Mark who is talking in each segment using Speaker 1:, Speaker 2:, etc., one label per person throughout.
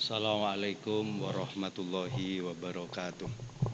Speaker 1: Assalamualaikum warahmatullahi wabarakatuh.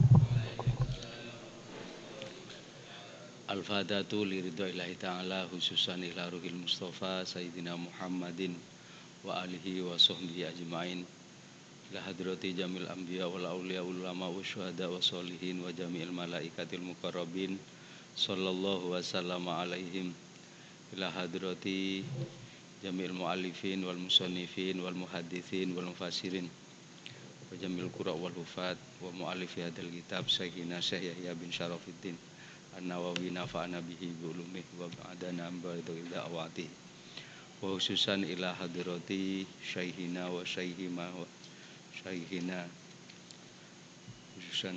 Speaker 1: Al-Fatihatu liridhoillahi ta'ala khususan ila ruhil Mustafa Sayyidina Muhammadin wa alihi wa sahbihi ajma'in ila hadrati jamil anbiya wal awliya ulama wa syuhada wa sholihin wa jami'il malaikatil muqarrabin sallallahu wa sallama alaihim ila hadrati jamil mu'allifin wal musannifin wal muhaddithin wal mufassirin wa jamil qura wal hufat wa mu'allifi hadal kitab Sayyidina Syekh Yahya bin Syarafuddin An-Nawawi nafa'ana bihi bi ulumih wa ba'dana ambaitu ila awati wa khususan ila hadirati syaikhina wa syaikhima wa syaikhina khususan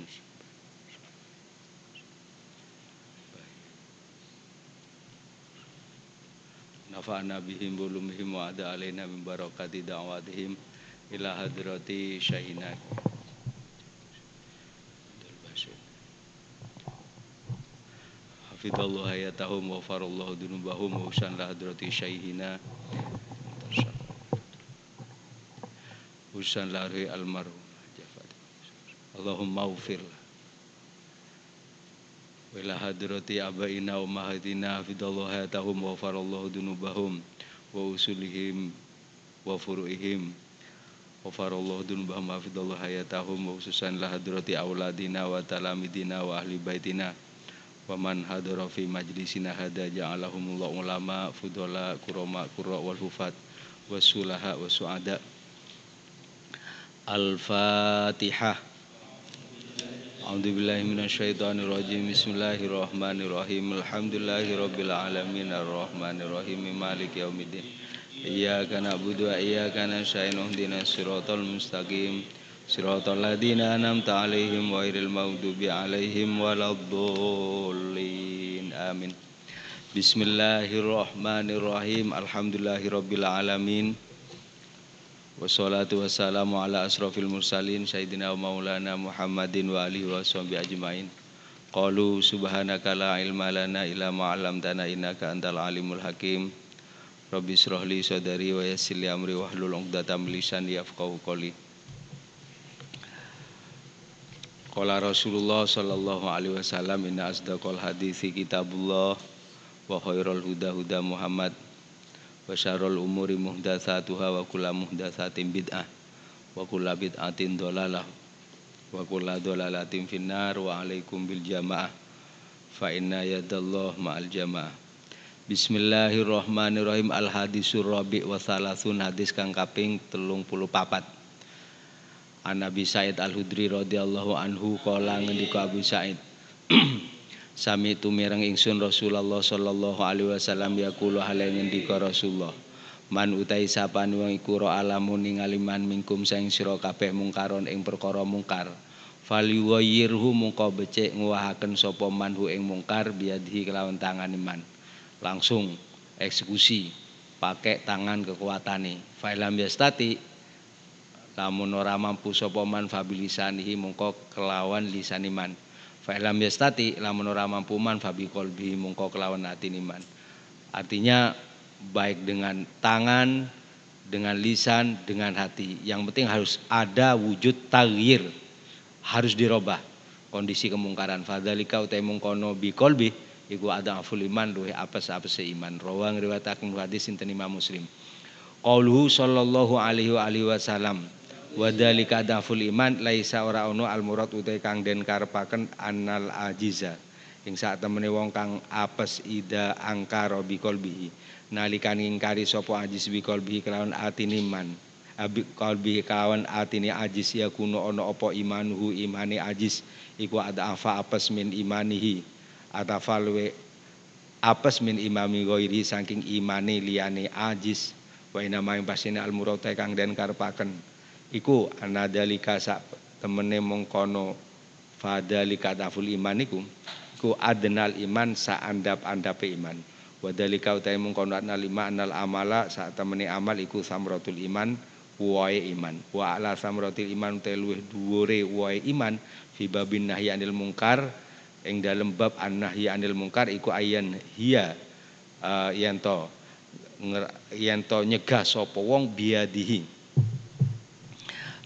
Speaker 1: nafa'ana bihim bi ulumihim wa ada alaina min barakati da'watihim ila hadirati syaikhina hafidallahu hayatahum wa farallahu dunubahum wa husan la hadrati syaikhina husan lari almarhum Allahumma ufir wa ila hadrati abaina wa mahadina hafidallahu hayatahum wa farallahu dunubahum wa usulihim wa furu'ihim wa farallahu dunubahum hafidallahu hayatahum wa hususan la hadrati auladina wa talamidina wa ahli baitina wa man hadara fi majlisina hada ja'alahumullah ulama fudala kurama qurra wal hufat wasulaha wasuada. Al-Fatihah. A'udzubillahi minasyaitonir rajim. Bismillahirrahmanirrahim. Alhamdulillahirabbil alamin arrahmanirrahim maliki yaumiddin. Iyyaka na'budu wa iyyaka nasta'in ihdinas siratal mustaqim. Siratal ladzina an'amta 'alaihim ghairil maghdubi 'alaihim waladdallin. Amin. Bismillahirrahmanirrahim. Alhamdulillahirabbil alamin. Wassalatu wassalamu ala asrofil mursalin Sayyidina wa maulana Muhammadin wa alihi wa sahbihi ajma'in. Qalu subhanaka la ilma lana illa ma 'allamtana innaka antal alimul hakim. Rabbi shrah li sadri wa yassir li amri wahlul 'uqdatam min lisani yafqahu qawli. Qala Rasulullah sallallahu alaihi wasallam inna asdaqal hadithi kitabullah wa khairul huda huda Muhammad wa syarrul umuri muhdatsatuha wa kullu muhdatsatin bid'ah wa kullu bid'atin dhalalah wa kullu dhalalatin finnar wa alaikum bil jamaah fa inna yadallah ma'al jamaah. Bismillahirrahmanirrahim. Al hadisur rabi wa salasun hadis kang kaping 34. An Nabi Sa'id Al-Hudri radhiyallahu anhu qala ngendika Abu Sa'id Sami tumireng ingsun Rasulullah sallallahu alaihi wasallam yaqulu hale ngendika Rasulullah man utai sapane wong iku ro alamun ningali man mingkum saing sira kabeh mungkaron ing perkara mungkar faliwayyirhu mungko becik nguwahaken sapa manhu ing mungkar biadhi kelawan tangane man langsung eksekusi pakai tangan kekuatane failam yastati lamun ora mampu sapa man fabilisanihi mungko kelawan lisaniman fa'ilam yastati lamun ora mampu man fabi qalbi mungko kelawan atine man. Artinya baik dengan tangan, dengan lisan, dengan hati. Yang penting harus ada wujud taghyir. Harus dirubah kondisi kemungkaran. Fadzalika utai mungkono bi qalbi iku adaful iman luwih apes-apese iman. Rawang riwayataken hadis sinten Imam Muslim. Qauluhu sallallahu alaihi wasallam wadhalika daful iman laisa ora ono al murad utai kang den karepaken anal ajiza ing sak temene wong kang apes ida angkara bi qalbihi nalikan ingkari sapa ajiz bi qalbihi kelawan atine iman abi qalbihi kelawan atine ajiz ya kuno ono apa imanuhu imane ajiz iku ada afa apes min imanihi atafalwe apes min imami ghairi saking imane liyane ajiz wa ina maing pasine al murad kang den karepaken iku anadalika sak temene mongkono fadalika daful iman iku adnal iman sak andap-andape iman wadalika utai mongkono anal lima anal amala sak temene amal iku samratul iman wae iman wa ala samratul iman utai luwih dhuwure wae iman fi babin nahyi anil mungkar ing dalem bab an-nahyi anil mungkar iku ayan hiya yen to nyegah sapa wong biadihi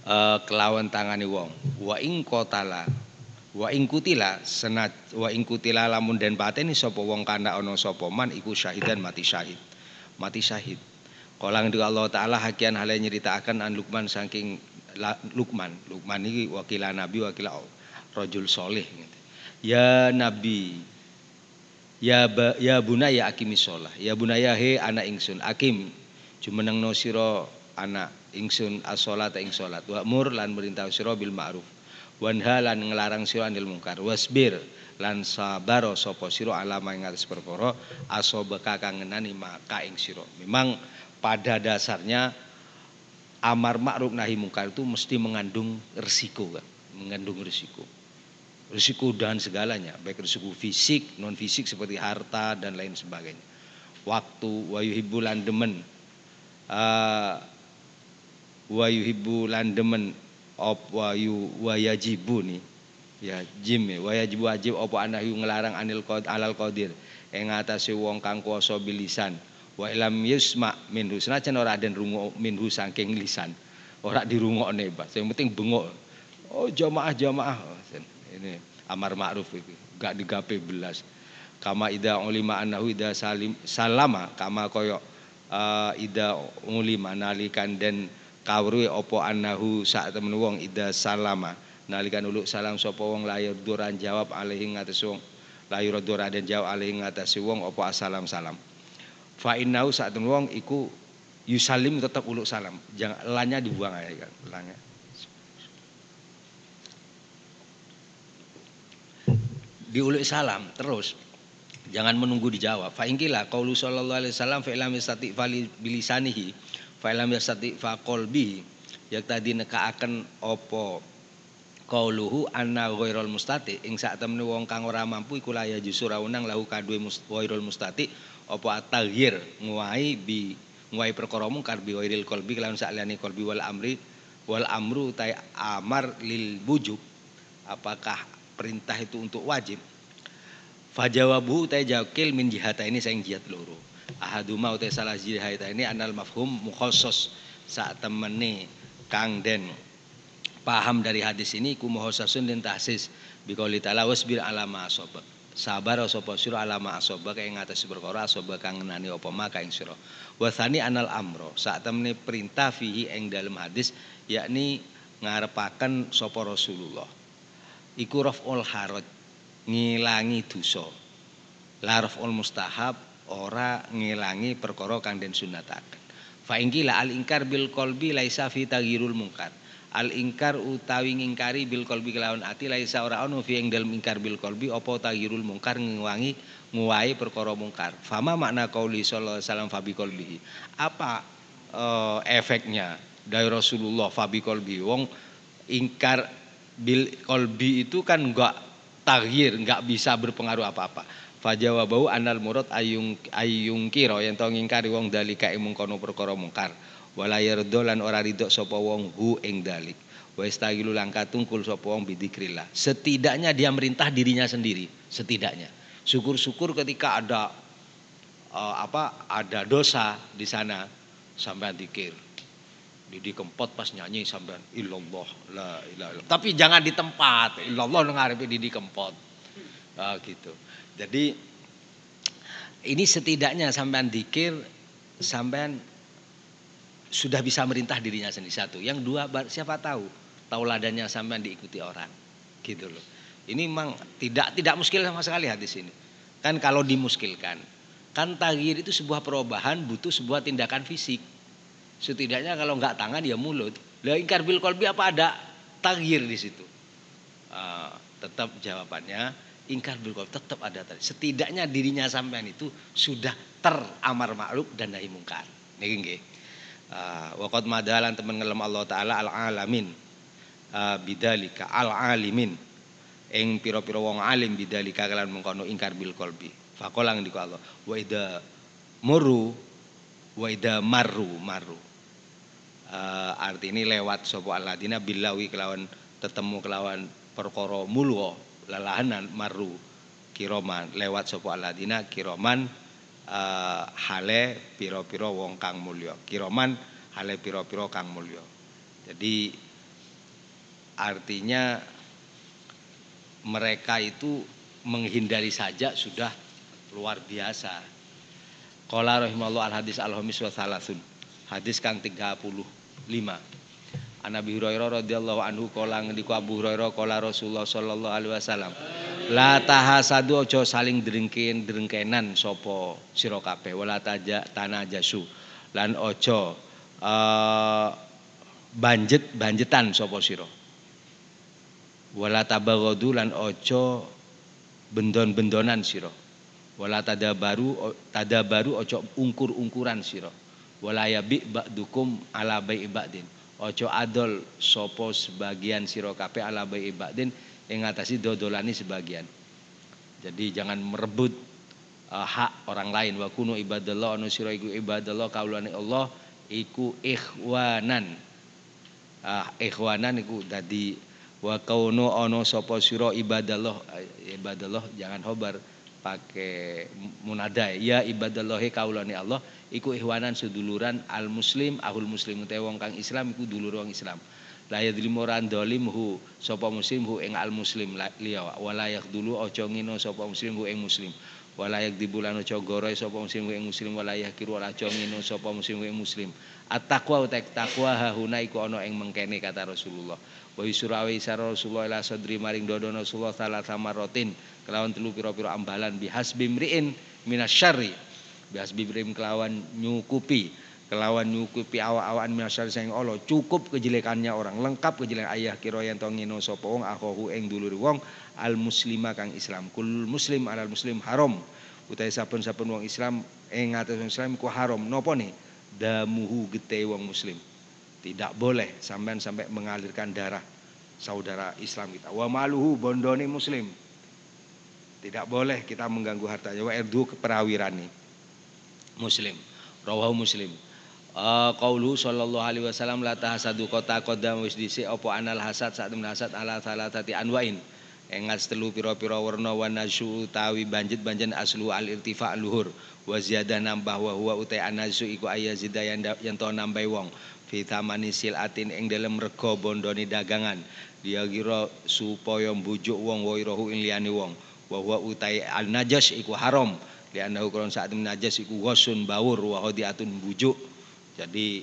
Speaker 1: kelawan tangane wong. Wa ing qatala wa ing kutila lamun den pateni sapa wong kana ana sapa man iku syahidan mati syahid. Mati syahid. Kala ngendika Allah taala hakian hale nyeritakaken an Luqman saking Luqman iki wakilah nabi wakilah rajul saleh. Ya nabi ya bunaya aqimis shalah. Ya bunaya he anak ingsun akim jumenengno sira anak ingsun as-shalat ing salat wa mur lan merintah sira bil ma'ruf wanha lan ngelarang sira anil mungkar wasbir lan sabar sapa sira alama ing atas perkara asobeka kang ngenani maka ing sira. Memang pada dasarnya amar ma'ruf nahi mungkar itu mesti mengandung risiko kan, mengandung risiko dan segalanya, baik risiko fisik, non fisik seperti harta dan lain sebagainya. Waktu wa yuhibbu lan demen wa yuhibbu lan demen wa yajibu nih ya jim wa yajibu wajib apa anahu ngelarang anil alal qadir ing atase wong kang kuwasa bilisan wa ilam yusma minhu senajan ora den rungu minhu saking lisan ora dirungokne Pak sing penting bengok jamaah ini amar ma'ruf iki gak digape belas kama ida ulima annahu ida salama kama koyo ida ulima nalikan den kawruhe apa annahu sak temen wong ida salama nalikan uluk salam sapa wong layur duran jawab alaihi ngatas wong layur duran den jawab alaihi ngatas wong apa assalam salam fa innahu sak temen wong iku yusalim tetap uluk salam jangan lanya dibuang aja kan lanya diuluk salam terus jangan menunggu dijawab fa ingkila qaulu sallallahu alaihi wasallam fa ilam yastati fali bilisanihi fa ilam yastati fa qalbi yak tadi nekaaken apa qauluhu anna ghairul mustati ing sak temene wong kang ora mampu iku laya jusur unang lahu kadue ghairul mustati apa at-taghyir nguwai perkara mungkar bi ghairil qalbi kelawan sakliyane qalbi wal amru ta amar lil wujub apakah perintah itu untuk wajib fajawabu ta jawkil min jihata ini saing jihad loro ahaduma uta salah jihata ini anal mafhum mukhassas sak temene kang den paham dari hadis ini ku muhassasun den tahsis bi qouli ta'ala wasbir alama asabak sabar sapa sira alama asabak ing atas perkara asabak kang ngenani apa maka ing sira wasani anal amro sak temene perintah fihi ing dalam hadis yakni ngarepaken sapa Rasulullah iku raf'ul haraj ngilangi dosa la raf'ul mustahab ora ngilangi perkara kang den sunataken fa ingkila al ingkar bil qalbi laisa fi taghyirul munkar al ingkar utawi ngingkari bil qalbi kelawan ati laisa ora ono fi ing dalem ingkar bil qalbi apa taghyirul munkar nguwai perkara mungkar fama makna qauli sallallahu alaihi wasallam fa bi qalbihi apa efeknya dari Rasulullah fa bi qalbi wong ingkar bil qalbi itu kan enggak taghyir enggak bisa berpengaruh apa-apa fajawabau anal murad ayung kira yen to ngingkari wong dalika ing mungkono perkara mungkar wala yardo lan ora ridho sapa wong hu ing dalik wa istagilu langka tungkul sapa wong bidzikrillah setidaknya dia merintah dirinya sendiri setidaknya syukur-syukur ketika ada ada dosa di sana sampean zikir di kempot pas nyanyi sampean illallah la ilaha illallah tapi jangan di tempat illallah nang ngarepe di kempot gitu jadi ini setidaknya sampean zikir sampean sudah bisa merintah dirinya sendiri satu. Yang dua siapa tahu tauladannya sampean diikuti orang. Gitu loh. Ini memang tidak muskil sama sekali hadis ini. Kan kalau dimuskilkan, kan taghyir itu sebuah perubahan butuh sebuah tindakan fisik. Setidaknya kalau enggak tangan ya mulut. Lah ingkar bil qalbi apa ada taghyir di situ? Tetap jawabannya ingkar bil qalbi tetap ada tadi. Setidaknya dirinya sampean itu sudah teramar ma'ruf dan nahi mungkar. Niki nggih. Waqad madalan temen ngelem Allah taala al alamin bidzalika al alimin ing pira-pira wong alim bidzalika kalan mengkono ingkar bil qalbi faqala ngendika Allah wa idza marru artine lewat sapa alladzina billawi kelawan tetemu kelawan perkara mulwa lalahanan marru kiroman lewat sapa alladzina kiroman hale piro-piro wong kang mulya kiroman hale piro-piro kang mulya jadi artinya mereka itu menghindari saja sudah luar biasa. Qala rahimallahu al hadis al-hamis wa salasun. Hadis kang 35. An Abi Hurairah radhiyallahu anhu qala ngendika Abu Hurairah qala Rasulullah sallallahu alaihi wasallam. La tahasadu aja saling drengkenan sapa sira kabeh wala tanajasu. Lan aja banjetan sapa sira. Wala tabaghadu lan aja bendon-bendonan sira. Wala tadabaru aja ungkur-ungkuran sira. Wala yabi ba'dukum ala bai'i ba'din. Aja adol sapa sebagian sira kabeh ala bai'i ba'din ing ngatasi dodolani sebagian. Jadi jangan merebut hak orang lain. Wa kunu ibadallah anu sira iku ibadallah kaulane Allah iku ikhwanan. Ikhwanan iku dadi wa kaunu ana sapa sira ibadallah jangan khobar pakai munada ya ibadallahi kaulane Allah iku ihwanan seduluran al muslim ahul muslim te wong kang Islam iku dulur wong Islam la yadlimu ran dolimhu sapa muslim hu ing al muslim liya wala yakdulu aja ngino sapa muslim hu ing muslim wala yakdibulan aja goroy sapa muslim hu ing muslim wala yakiru aja ngino sapa muslim hu ing muslim at-taqwa takwa hahuna iku ana ing mengkene kata Rasulullah wa yusrawi sara Rasulullah ila sadri maring dodono Rasulullah salah samarotin kelawan telu pira-pira ambalan bihasbi mriin minasyarri bihasbi mriin kelawan nyukupi awak-awakan minasyarri sing Allah cukup kejelekannya orang lengkap kejelekan ayah kira yen to ngino sapa wong akhahu ing dulur wong al muslima kang Islam kul muslim alal muslim haram utahe saben-saben wong Islam ing ngatas wong Islam ku haram napa nih damuhu gete wong muslim tidak boleh sampai mengalirkan darah saudara Islam kita wa maluhu bondone muslim tidak boleh kita mengganggu hartanya wa erdu keperawirane muslim rawahu muslim qaulu sallallahu alaihi wasallam la tahasadu kota qadam wis dhisik apa anal hasad sak temen hasad ala salatati anwain engas telu pira-pira warna wa nasu utawi banjet aslu al irtifa luhur wa ziyadah nambah wa huwa utai anasu iku ayazida yang to nambah wong fi tamani silatin ing dalem rega bondone dagangan dia kira supaya mbujuk wong wa irahu ing liyane wong wa huwa utai al najas iku haram li annahu kron saat najas iku wasun bawur wa hadiatun bujuk jadi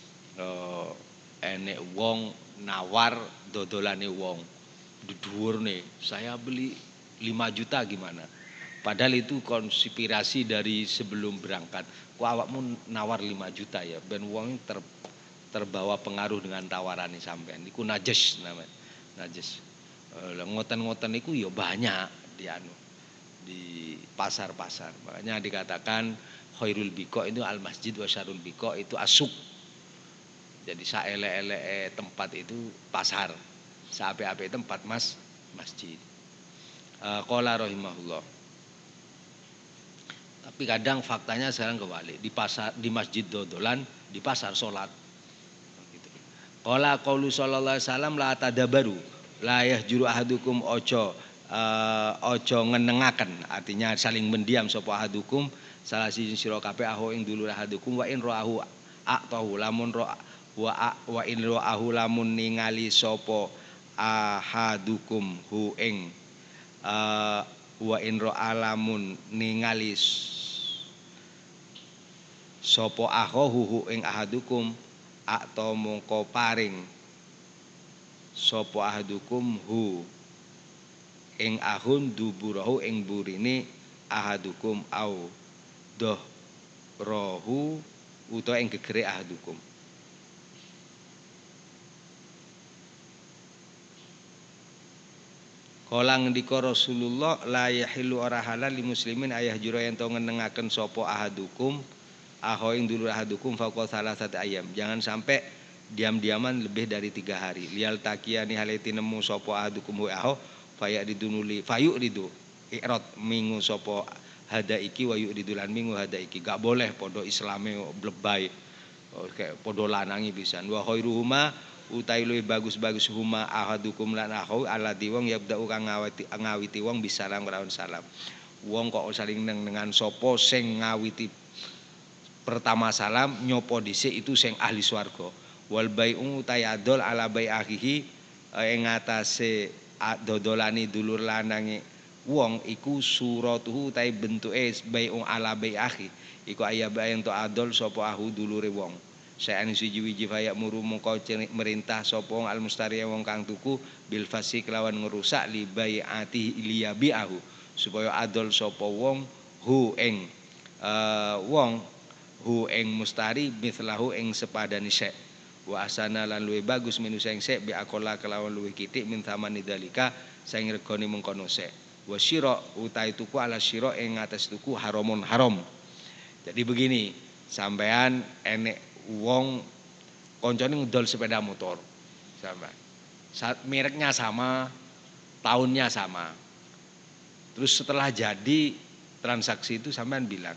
Speaker 1: enek wong nawar dodolane wong dhuwurne saya beli 5 juta gimana padahal itu konspirasi dari sebelum berangkat kok awakmu nawar 5 juta ya ben wong terbawa pengaruh dengan tawarane sampean iku najas namanya najas ngoten-ngoten iku ya banyak di pasar-pasar makanya dikatakan khairul biqa itu al masjid wa syarrul biqa itu asuk jadi saelek-elek tempat itu pasar saapik-apik tempat masjid qala rahimahullah tapi kadang faktanya sekarang kebalik di pasar di masjid dodolan di pasar salat gitu. Qala qaulu sallallahu alaihi wasallam la tadabaru la yahjuru ahadukum ojo ngenengaken artinya saling mendiam sapa ahadukum salah siji sira kabeh aho ing dulur ahadukum wa in ra'ahu aqtahu lamun wa in ra'ahu lamun ningali sapa ahadukum hu ing wa in ra'a lamun ningali sapa ahahu hu ing ahadukum aqta mongko paring sapa ahadukum hu ing ahun duburahu ing burine ahadukum au doh rohu utawa ing gegere ahadukum kala ngendika Rasulullah la yahilu ora halal li muslimin ayah jura yen to ngenengaken sapa ahadukum aho ing dulur ahadukum faqal salasati ayam jangan sampai diam-diaman lebih dari 3 hari lial takiyani haleti nemu sapa ahadukum wa aho fayak didunuli fayuk ridu ikrot minggu sopo hada iki wayuk ridulan minggu hada iki gak boleh podo islame blebay kayak podo lanangi pisan wa khairuhuma utai luwih bagus-bagus huma ahadukum lan akhu alladzi wong yabda'u kang ngawiti wong bisalam kelawan salam wong kok saling dengan sopo sing ngawiti pertama salam nyopo dhisik itu sing ahli swarga wal bai'u utai adol ala bai akhihi ing atase dodolani dulur lanange wong iku suratuhu ta bentuke bai'un ala bai akhi iku ayaba ento adol sapa ahu dulure wong saen siji wiji fayak muru mongko merintah sapa wong al mustari wong kang tuku bil fasik lawan ngerusak li bai'ati liyabi ahu supaya adol sapa wong hu ing wong hu ing mustari mithlahu ing sepadani sek wa asana lan luwih bagus minu sing sek bi akola kelawan luwih kitik min tamani dalika sing regane mengkono sek wa syira utai tuku ala syira ing atas tuku haramun haram. Jadi begini, sampean enek wong koncone ngedol sepeda motor. Sama. Mereknya sama, tahunnya sama. Terus setelah jadi transaksi itu sampean bilang,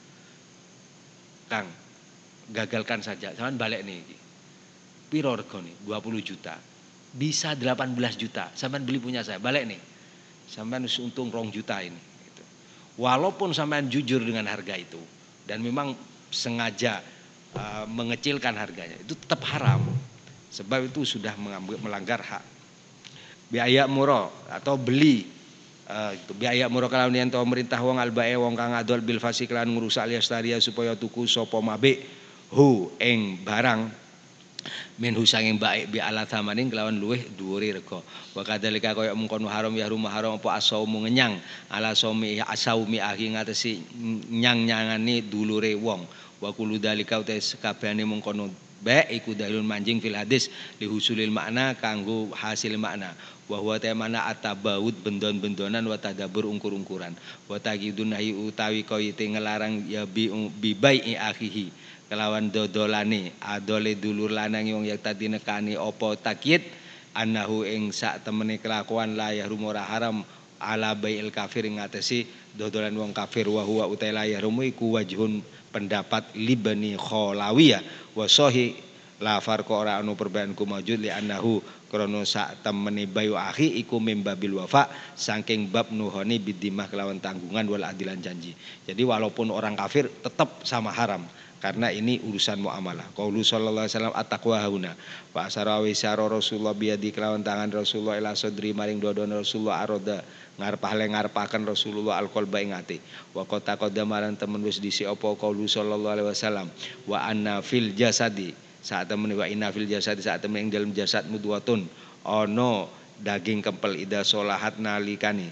Speaker 1: "Kang, gagalkan saja, sampean balik nih." Piro regane? 20 juta. Bisa 18 juta. Sampean beli punya saya, balik nih. Sampean untung 2 juta ini gitu. Walaupun sampean jujur dengan harga itu dan memang sengaja mengecilkan harganya, itu tetap haram. Sebab itu sudah melanggar hak. Biaya murah atau beli gitu. Biaya murah kalawan yen to merintah wong albae wong kang adol bil fasik lan ngrusak liastaria supaya tuku sapa mabik hu ing barang minhu sanging baik bi ala thamanin kelawan luweh dhuwure rega wa kadzalika kaya mengkono haram ya rumah haram apa asaumu ngenyang ala saumi asaumi ahi ngatesi nyang-nyangani dulure wong wa kullu dalika uta sakabehane mengkono baik iku dalil manjing fil hadis li husulil makna kanggo hasil makna wa huwa tamana atabawud bendon-bendonan wa tadabbur ungkur-ungkuran wa taqidun nahi utawi koyite ngelarang ya bi bai'i akhihi kelawan dodolane adole dulur lanang wong yak tadi nekani apa takyid annahu ing sak temene kelakuan la yahrum ora haram ala bai'il kafir ngatesi dodolan wong kafir wa huwa utai la yahrum iku wajhun pendapat libani kholawiyah wa sahih la farqa ora anu perbedaan ku maujud li annahu krana sak temene bayu akhi iku mimbabil wafa saking bab nuhoni bidimah kelawan tanggungan wal adilan janji. Jadi walaupun orang kafir tetap sama haram karena ini urusan muamalah. Qaulu sallallahu alaihi wasallam at-taqwa hauna. Wa asara wa isyara Rasulullah biadi kelawan tangan Rasulullah ila sadri maring dodon Rasulullah aroda ngarepaken Rasulullah alqalba ing ati. Wa qata qadamaran temen wis disi apa qaulu sallallahu alaihi wasallam wa anna fil jasadi saat temen wa inna fil jasadi saat temen ing dalam jasad mudwatun ana daging kempel ida solahat nalikane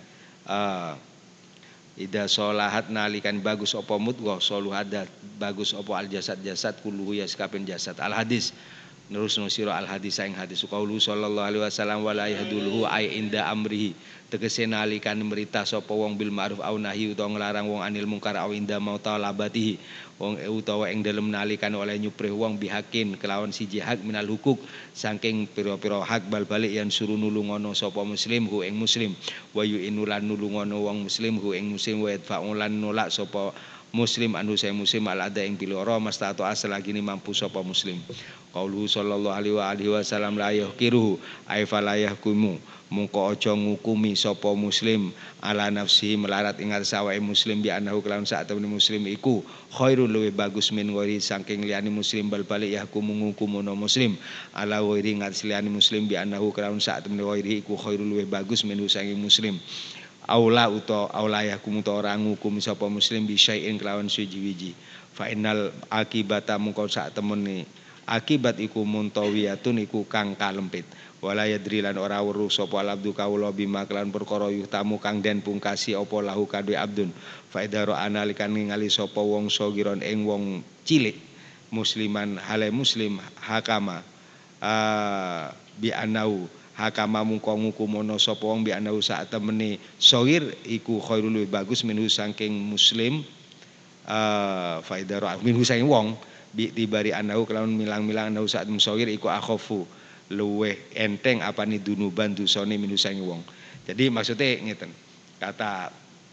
Speaker 1: ida solahat nalikan bagus apa mudghah soluhadat bagus apa al jasad jasad kulluhu ya sakabeh jasad al hadis terus nusira al hadis ing hadis qaulu sallallahu alaihi wasallam wala yahduluhu ay inda amrihi tegese nalikan merita sapa wong bil ma'ruf au nahi utawa nglarang wong anil mungkar au inda mauta labatihi wong utawa ing dalem nalikan oleh nyuprih wong bihakin kelawan siji hak minal hukuk saking pira-pira hak bal balik yang suruh nulungono sapa muslim hu ing muslim wa yu'inulan nulungono wong muslim hu ing muslim wa yadfa'ulan nolak sapa muslim anu saya muslim al ada ing piloro mastatu asal lagi ni mampu sapa muslim qaulu sallallahu alaihi wasallam la yahkiruhu ay fala yahkumu mungko aja ngukumi sapa muslim ala nafsi melarat ing sawake muslim bi anahu kelawan sak temene muslim iku khairul luwih bagus min ghairi saking liyane muslim bal balik yahkumu ngukumuno muslim ala ghairi ngat liyane muslim bi anahu kelawan sak temene ghairi iku khairul luwih bagus min saking muslim aula uta aula yahkumu ta ora ngukum sapa muslim bi syai'in kelawan suji-wiji fa innal akibata mungko sak temene akibat iku muntawiyatun iku kang kalempit wala yadri lan ora weruh sapa abdu kawula bima kelan perkara yutamu kang den pungkasi apa lahu kadhe abdun fa idara analikan ningali sapa wong sagiron ing wong cilik musliman hale muslim hakama bi anau hakama mungko ngukumono sapa wong bi anau sak temene sagir iku khairul luwih bagus minhu saking muslim fa idara minhu saking wong bi tibari anau kelawan milang-milang anau sak musawir iku akhafu luweh enteng apa nih dunuban dusane minusane wong. Jadi maksudnya ngeten. Kata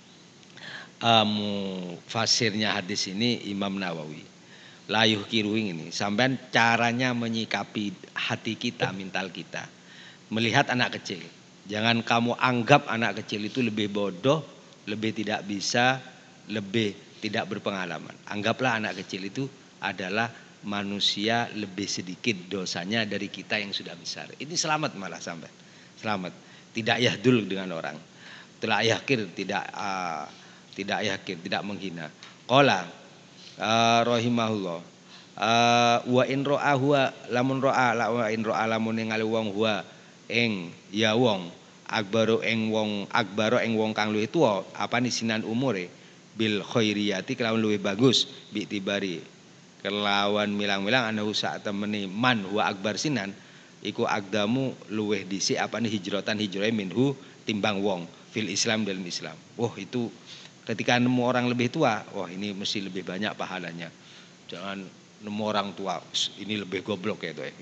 Speaker 1: fasirnya hadis ini Imam Nawawi. Layuh kiruing ini sampean caranya menyikapi hati kita, mental kita. Melihat anak kecil. Jangan kamu anggap anak kecil itu lebih bodoh, lebih tidak bisa, lebih tidak berpengalaman. Anggaplah anak kecil itu adalah manusia lebih sedikit dosanya dari kita yang sudah besar. Ini selamat malah sampai. Selamat. Tidak yahdul dengan orang. Tidak yakin, tidak yakin, tidak menghina. Qala rahimahullah. Wa in ra'a huwa lamun ra'a la wa in ra'a lamun ningali wong huwa ing ya wong akbaro ing wong kang luwih tuwa apane sinan umure bil khairiyati kelawan luwih bagus bi tibari kelawan milang-milang anahu sak temene man huwa akbar sinan iku akdamu luwih dhisik apane hijratan hijrahe minhu timbang wong fil Islam dalam Islam. Wah itu ketika nemu orang lebih tua, wah ini mesti lebih banyak pahalanya. Jangan nemu orang tua ini lebih goblok ya itu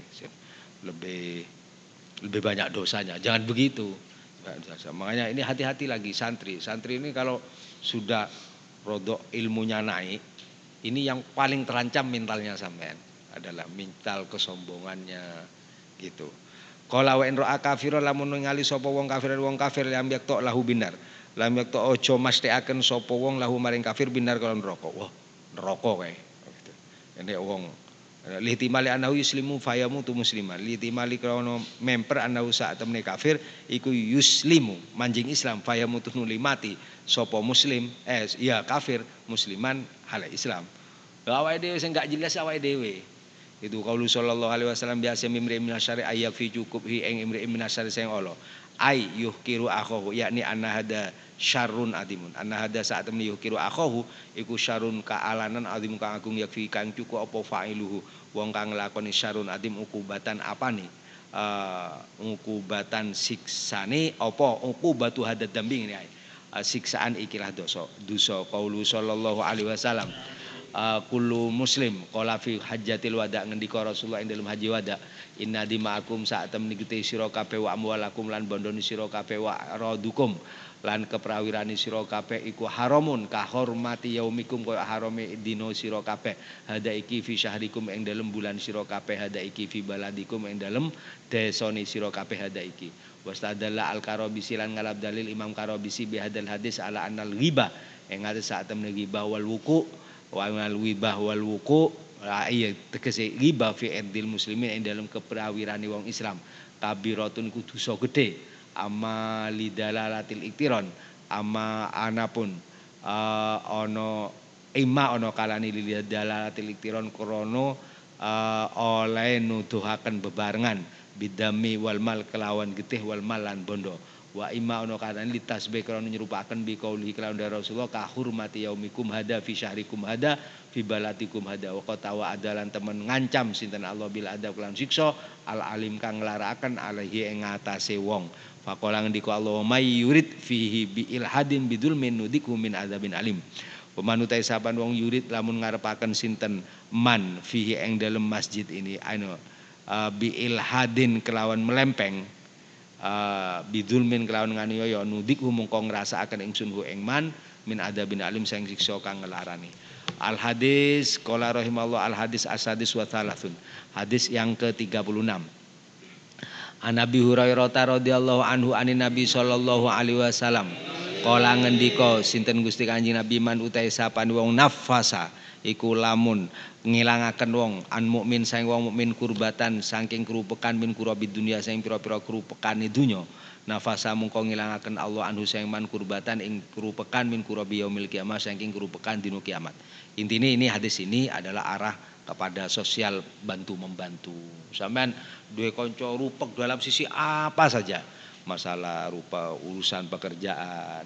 Speaker 1: lebih banyak dosanya. Jangan begitu. Makanya ini hati-hati lagi santri. Santri ini kalau sudah rodok ilmunya naik, ini yang paling terancam mentalnya sampean adalah mental kesombongannya gitu. Qala wa in ra'a kafiran lamun ningali sapa wong kafir lam yakta lahu binar. Lam yakta aja mestekaken sapa wong lahu maring kafir binar kalau neraka. Wah, neraka kae. Gitu. Nek wong litimali anahu yuslimu fayamu tu musliman. Litimali krono memper anahu sak temne kafir iku yuslimu manjing Islam fayamu tu nuli mati sapa muslim ya kafir musliman hal Islam. Awake dhewe sing gak jelas awake dhewe. Itu qaulu sallallahu alaihi wasallam biasa mimri minasyari ayya fi cukup hi ing imri minasyari sing Allah ay yuhkiru akhahu yakni anna hada syarrun adimun anna hada saat temni yuhkiru akhahu iku syarrun kaalanan adim kang agung yakfi kang cukup apa fa'iluhu wong kang nglakoni syarrun adim ukubatan apane ukubatan siksane apa ukubatu hada dambing ini siksaan ikilah dosa qaulu sallallahu alaihi wasallam kullu muslim qala fi hajjatil wada ngendika Rasulullah ing dalam haji wada inna dima'akum saat temni gete sira kabeh wa amwalakum lan bondone sira kabeh wa radukum lan keprawirane sira kabeh iku haramun ka hormati yaumikum kaya harame dina sira kabeh hada iki fi syahrikum ing dalam bulan sira kabeh hada iki fi baladikum ing dalam desane sira kabeh hada iki wastadalla al-Karabisi lan ngalap dalil Imam Karabisi bi hadal hadis ala annal ghibah ing ade saat temne ghibah wal wuku wal wibah wal wuku iya tegese ghibah fi ardil muslimin ing dalam keprawirane wong Islam kabiratun ku dosa gedhe amma lidalalatil iktiron amma anapun ana ana kalane lidalalatil iktiron krana oleh nuduhaken bebarengan bidami wal mal kelawan getih wal mal lan bondo wa imma ono kana litasbih krana nyerupaken bi qauli kelawan Rasulullah ka hurmati yaumikum hada fi syahrikum hada fi balatikum hada wa qatawa adalan temen ngancam sinten Allah bil adab lan siksa al alim kang nglarakaken alaihi ing ngatasé wong faqala ngendika Allah may yurid fihi bi ilhadin bidul min nudiku min adzabin alim pemanutai saban wong yurid lamun ngarepaken sinten man fihi ing dalem masjid ini bi ilhadin kelawan melempeng bidulmin kelawan nganiaya nudik mongko ngrasakaken ingsun hu ing man min adabin alim sing siksa kang ngelarani. Al hadis qala rahimallahu al hadis asadis wa thalathun. Hadis yang ke-36. An Abi Hurairah radhiyallahu anhu anin Nabi sallallahu alaihi wasallam qala ngendika sinten Gusti Kanjeng Nabi man utai sapan wong nafasa iku lamun ngilangaken wong an mukmin saing wong mukmin kurbatan saking kerupekan min kurabi dunia saing pira-pira kerupekane dunya nafasa mungko ngilangaken Allah anhu saing man kurbatan ing kerupekan min kurabi yaumil kiamah saking kerupekan dina kiamat. Intine ini hadis ini adalah arah kepada sosial bantu membantu. Sampean duwe kanca rupek dalam sisi apa saja, masalah rupa urusan pekerjaan,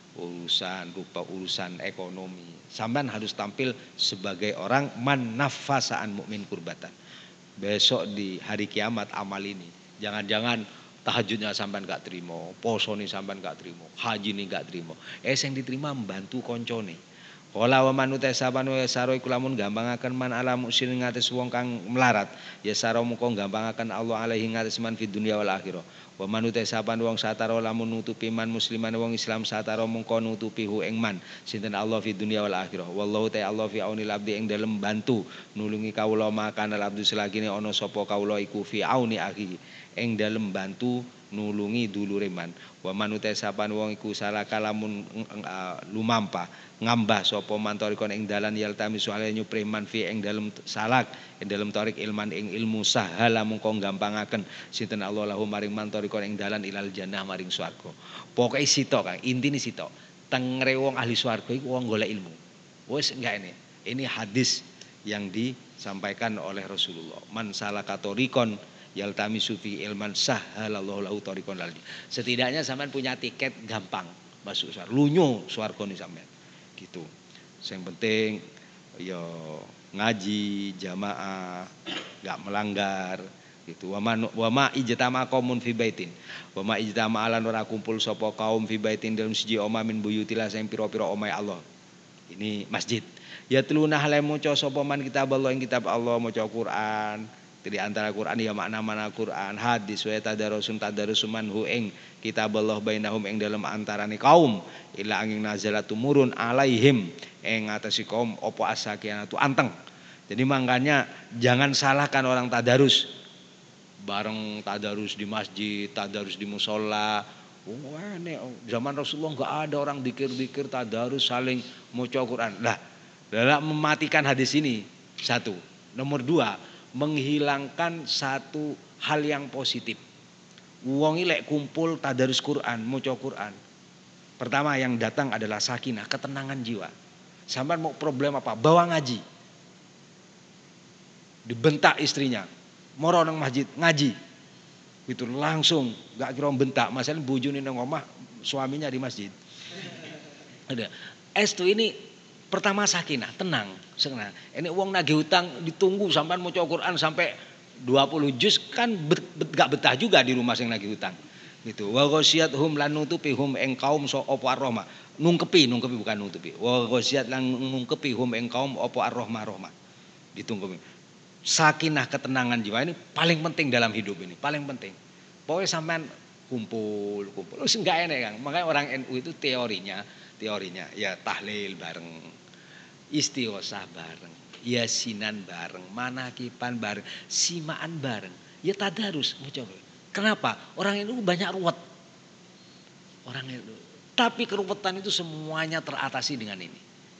Speaker 1: urusan ekonomi. Sampean harus tampil sebagai orang man nafasaan mukmin kurbatan. Besok di hari kiamat amal ini. Jangan-jangan tahajudnya sampean gak terima, posone sampean gak terima, haji ini gak terima. Sing diterima membantu koncone. Kala wa manute saban wa saro iku lamun gampangaken man ala muksin ngates wong kang melarat ya saro mengko gampangaken Allah alaihi ngates man fid dunya wal akhirah. Wa manute saban wong sataro lamun nutupi man musliman wong Islam sataro mengko nutupi hu ing man sinten Allah fid dunya wal akhirah. Wallahu ta'ala Allah fi aunil abdi ing dalem bantu nulungi kawula makana abdu selagine ana sapa kawula iku fi auni akhi ing dalem bantu nulungi dulure man. Wa manute sapan wong iku salaka lamun lumampa ngambah sapa man tarikon ing dalan yaltami soale nyupre man fi ing dalem salak ing dalem tarik ilman ing ilmu sahala mungko gampangaken sinten Allah lahu maring man tarikon ing dalan ilal jannah maring swarga. Pokoke sitok Kang, intine sitok. Tengre wong ahli swarga iku wong golek ilmu. Wis enggak ini. Ini hadis yang disampaikan oleh Rasulullah. Man salaka tarikon yaltamisu fi ilman sahalallahu lahu tariqan lal. Setidaknya sampean punya tiket gampang masuk swarga. Lunyo swargane sampean. Gitu. Yang penting ya ngaji jamaah, enggak melanggar gitu. Wa ma ijtama qaumun fi baitin. Wa ma ijtama alan ora kumpul sapa kaum fi baitin dalam siji omah min buyutilah sing pira-pira omahe Allah. Ini masjid. Ya teluna hale maca sapa man kitab Allah ing kitab Allah maca Quran. Di antara Quran ya makna-makna Quran, hadis wa tadarusum manhu ing kitab Allah bainahum ing dalam antarane kaum ila angin nazalat tumurun alaihim ing ngatasi kaum apa asakianatu anteng. Jadi makanya jangan salahkan orang tadarus. Bareng tadarus di masjid, tadarus di musola. Wah, zaman Rasulullah enggak ada orang zikir-zikir tadarus saling maca Quran. Lah, dalam mematikan hadis ini satu. Nomor dua, menghilangkan satu hal yang positif. Wong lek kumpul tadarus Quran, maca Quran. Pertama yang datang adalah sakinah, ketenangan jiwa. Sampai mau problem apa? Bawa ngaji. Dibentak istrinya. Moro nang masjid ngaji. Itu langsung gak kira bentak, masalah bojone nang omah, suaminya di masjid. Ada. Estu ini pertama sakinah, tenang, senang. Ini uang nagih hutang ditunggu sampai mau Quran sampai 20 juz kan gak betah juga di rumah sing nagih hutang. Gitu. Wa ghasyiyatuhum lan nutupi hum ing kaum so apa ar-rahmah. Nungkepi bukan nutupi. Wa ghasyiyat lan nungkepi hum ing kaum apa ar-rahmah. Ditunggu. Sakinah ketenangan jiwa ini paling penting dalam hidup ini, paling penting. Pokoknya sampean kumpul. Wis enggak enak Kang. Makanya orang NU itu teorinya ya tahlil bareng. Istighosah bareng, yasinan bareng, manakipan bareng, simaan bareng. Ya tadarus, mau coba. Kenapa? Orang itu banyak ruwet. Orang itu. Tapi keruwetan itu semuanya teratasi dengan ini.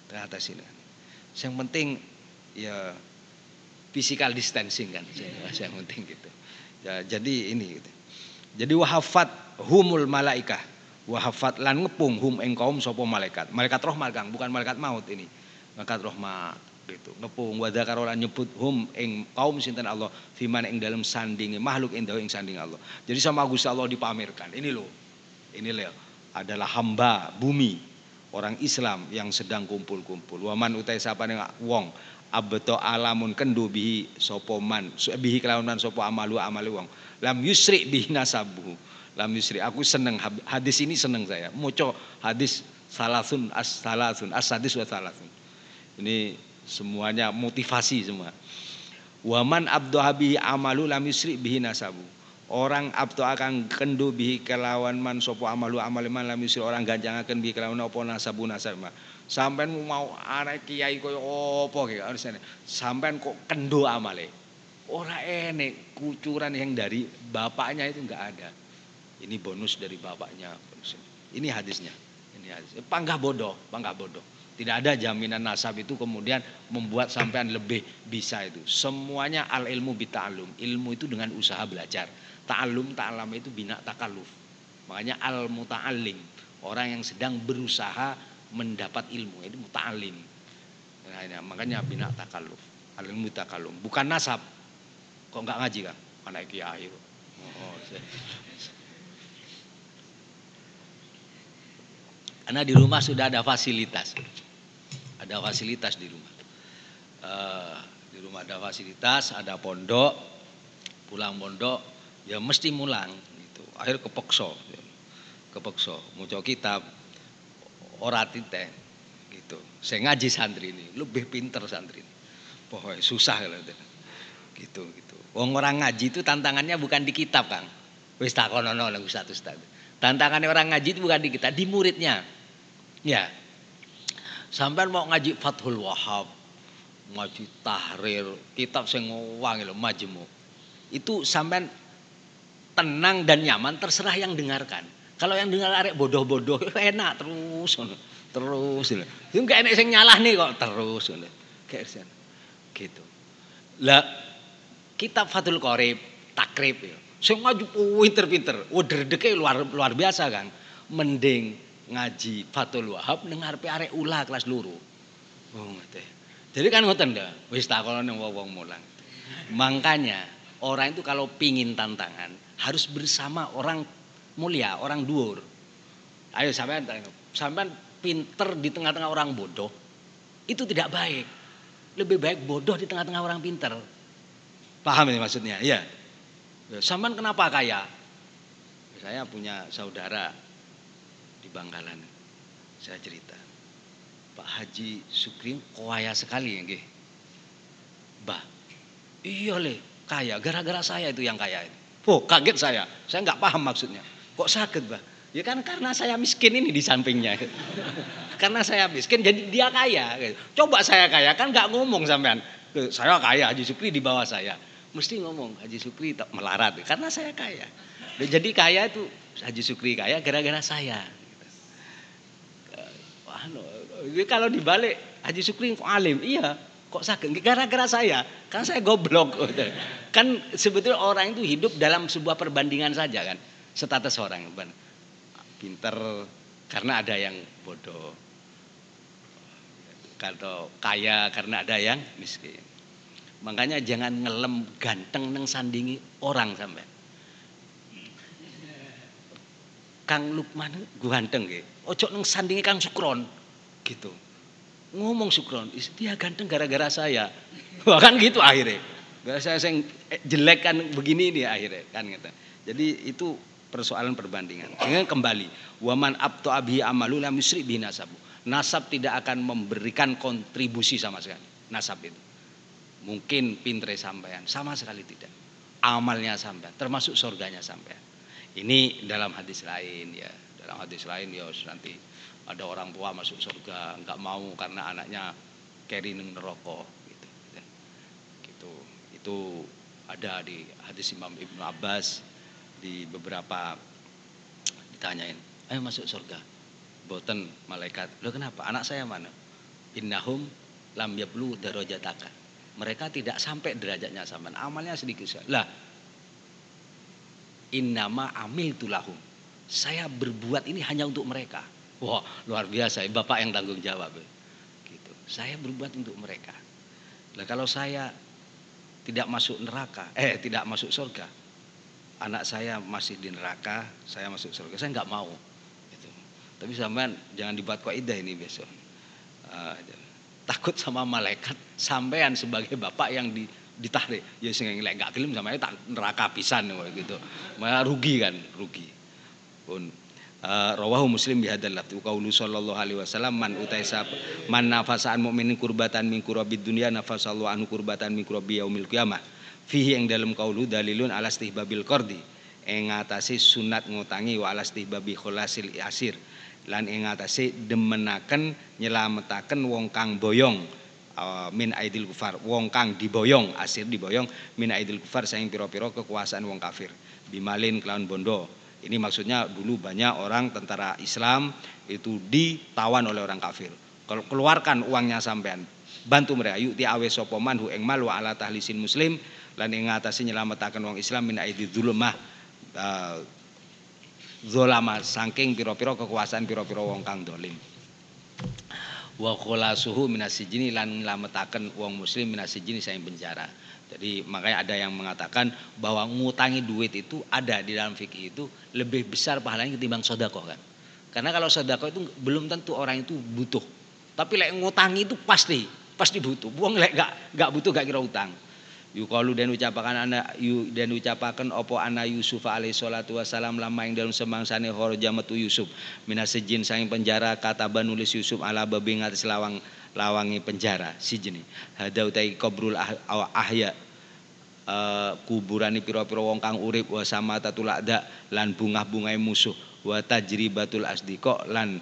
Speaker 1: Yang penting ya physical distancing kan. Yang penting gitu. Ya, jadi ini gitu. Jadi wahafat humul malaikah. Wahafat lan ngepung hum ing kaum sapa malaikat. Malaikat rahmat Kang, bukan malaikat maut ini. Malaikat rahmat gitu. Ngepung wa dzakarolan nyebut hum ing kaum sinten Allah fiman ing dalam sandinge makhluk indah ing sanding Allah. Jadi sama Gusti Allah dipamerkan. Ini loh adalah hamba bumi orang Islam yang sedang kumpul-kumpul. Waman utai sapane wong abto alamun kendu bihi sapa man bihi kelawan man sapa amali wong. Lam yusri bihi nasabu. Lam yusri, aku seneng hadis ini, seneng saya. Maca hadis salasun as-sadis wa salasun. Ini semuanya motivasi semua. Waman abdoha bihi amalu lam yusri bihi nasabu. Orang abdo akan kendu bihi kelawan man sopo amalu amaliman lam yusri, orang ganjangaken bihi kelawan apa nasabu nasabma. Sampean mau anak kiai koyo apa ki sampean kok kendo amale. Ora enek kucuran yang dari bapaknya itu enggak ada. Ini bonus dari bapaknya. Ini hadisnya. Panggah bodoh. Tidak ada jaminan nasab itu kemudian membuat sampean lebih bisa itu. Semuanya al ilmu bita'allum. Ilmu itu dengan usaha belajar. Ta'alam itu bina takalluf. Makanya al muta'allim. Orang yang sedang berusaha mendapat ilmu. Itu muta'allim. Nah, makanya bina takalluf. Al ilmu takallum. Bukan nasab. Kok enggak ngaji Kang? Anak kiai. Karena di rumah sudah ada fasilitas. Ada fasilitas di rumah. Di rumah ada fasilitas, ada pondok, pulang pondok, ya mesti mulang gitu. Akhir kepeksa maca kitab ora titeh gitu. Saya ngaji santri ini, lebih pinter santri ini. Pokoknya susah gitu. Wong orang ngaji itu tantangannya bukan di kitab, Kang. Wis takonono lho ustaz. Tantangannya orang ngaji itu bukan di kitab, di muridnya. Ya. Sampean mau ngaji Fathul Wahhab, ngaji Tahrir, kitab sing wangi lho Majmu. Itu sampean tenang dan nyaman terserah yang dengarkan. Kalau yang dengar arek bodoh-bodoh enak terus terus. Itu enggak enak sing nyalah nih kok terus kayak gitu. Lah kitab Fathul Qorib, takrib ya. Sing maju pinter-pinter, dredege luar biasa Kang. Mending ngaji Fathul Wahab ning ngarepe arek ula kelas loro. Oh ngoten. Jadi kan ngoten lho, wis takono ning wong mulang. Makanya orang itu kalau pingin tantangan harus bersama orang mulia, orang dhuwur. Ayo sampean pinter di tengah-tengah orang bodoh, itu tidak baik. Lebih baik bodoh di tengah-tengah orang pinter. Paham ini maksudnya? Iya. Sampean kenapa kaya? Saya punya saudara di Bangkalan. Saya cerita. Pak Haji Sukri kaya sekali nggih. Bah. Iya le, kaya gara-gara saya itu yang kaya. Oh, kaget saya. Saya nggak paham maksudnya. Kok sakit, Bah? Ya kan karena saya miskin ini di sampingnya. Karena saya miskin jadi dia kaya. Coba saya kaya kan nggak ngomong sampean. Saya kaya, Haji Sukri di bawah saya. Mesti ngomong Haji Sukri tak melarat karena saya kaya. Jadi kaya itu Haji Sukri kaya gara-gara saya. Kalau dibalik Haji Sukri alim, iya kok sakit gara-gara saya, kan saya goblok. Kan sebetulnya orang itu hidup dalam sebuah perbandingan saja kan, status orang pinter karena ada yang bodoh, kalau kaya karena ada yang miskin. Makanya jangan ngelem ganteng neng sandingi orang sampai. Kang Lukman ganteng nggih. Ojo neng sandingi Kang Sukron gitu. Ngomong Sukron, dia ganteng gara-gara saya. Wah kan gitu akhirnya. Gara saya yang jelek kan begini nih akhirnya kan gitu. Jadi itu persoalan perbandingan. Dengan kembali, waman abtu abi amalu lam yusri bi nasabu. Nasab tidak akan memberikan kontribusi sama sekali. Nasab itu. Mungkin pintere sampean, sama sekali tidak. Amalnya sampean, termasuk surganya sampean. Ini dalam hadis lain ya. Dalam hadis lain ya nanti ada orang tua masuk surga nggak mau karena anaknya keri neng neraka gitu. Gitu. Itu ada di hadis Imam Ibnu Abbas di beberapa ditanyain, ayo masuk surga. Boten malaikat. Loh kenapa? Anak saya mana? Innahum lam yablu darajataka. Mereka tidak sampai derajatnya sampean. Amalnya sedikit. Lah innama amiltu lahum. Saya berbuat ini hanya untuk mereka. Wah, luar biasa. Bapak yang tanggung jawab. Gitu. Saya berbuat untuk mereka. Nah, kalau saya tidak masuk neraka, tidak masuk surga, anak saya masih di neraka, saya masuk surga, saya nggak mau. Gitu. Tapi sampean jangan dibuat kaidah ini besok. Takut sama malaikat, sampean sebagai bapak yang ditarik. Ya sing lek gak gelem sampean tak neraka pisan gitu. Malah rugi kan, rugi. Pun rawahu Muslim bihadzal lafzi qaulu sallallahu alaihi wasallam man utaisa man nafasaan mukminin kurbatan min kurabid dunya nafasallahu anhu kurbatan min kurabi yaumil qiyamah. Fihi ing dalem qaulu dalilun ala istihbabil qardi. Ing ngatasi sunat ngutangi wa ala istihbabi khulasil asir. Lan ing atase demenaken nyelametaken wong kang boyong min aidil kufar, wong kang diboyong, asir diboyong min aidil kufar saing pira-pira kekuasaan wong kafir bimalin kelawan bondo. Ini maksudnya dulu banyak orang tentara Islam itu ditawan oleh orang kafir. Kalau keluarkan uangnya sampean, bantu mereka yuk ti awe sapa man hu ing mal wa ala tahlisin muslim lan ing atase nyelametaken wong Islam min aidil dzulmah zolama saking pira-pira kekuasaan pira-pira wong kang dolim. Wa khulasuhu minasijini lan nglametaken wong muslim minasijini saing penjara. Jadi makanya ada yang mengatakan bahwa ngutangi duit itu ada di dalam fikih itu lebih besar pahalanya ketimbang sedekah kan. Karena kalau sedekah itu belum tentu orang itu butuh. Tapi lek ngutangi itu pasti butuh. Wong lek gak butuh gak kira utang. Yuqalu dan ucapaken apa ana Yusuf alaihi salatu wasalam lama ing dalem semangsane kharaja metu Yusuf minasijin saking penjara kata nulis Yusuf ala babi ngates lawangi penjara sijine hada utai qabrul ahya kuburane pira-pira wong kang urip wa samatatul ada lan bungah-bungahe musuh wa tajribatul asdiqa lan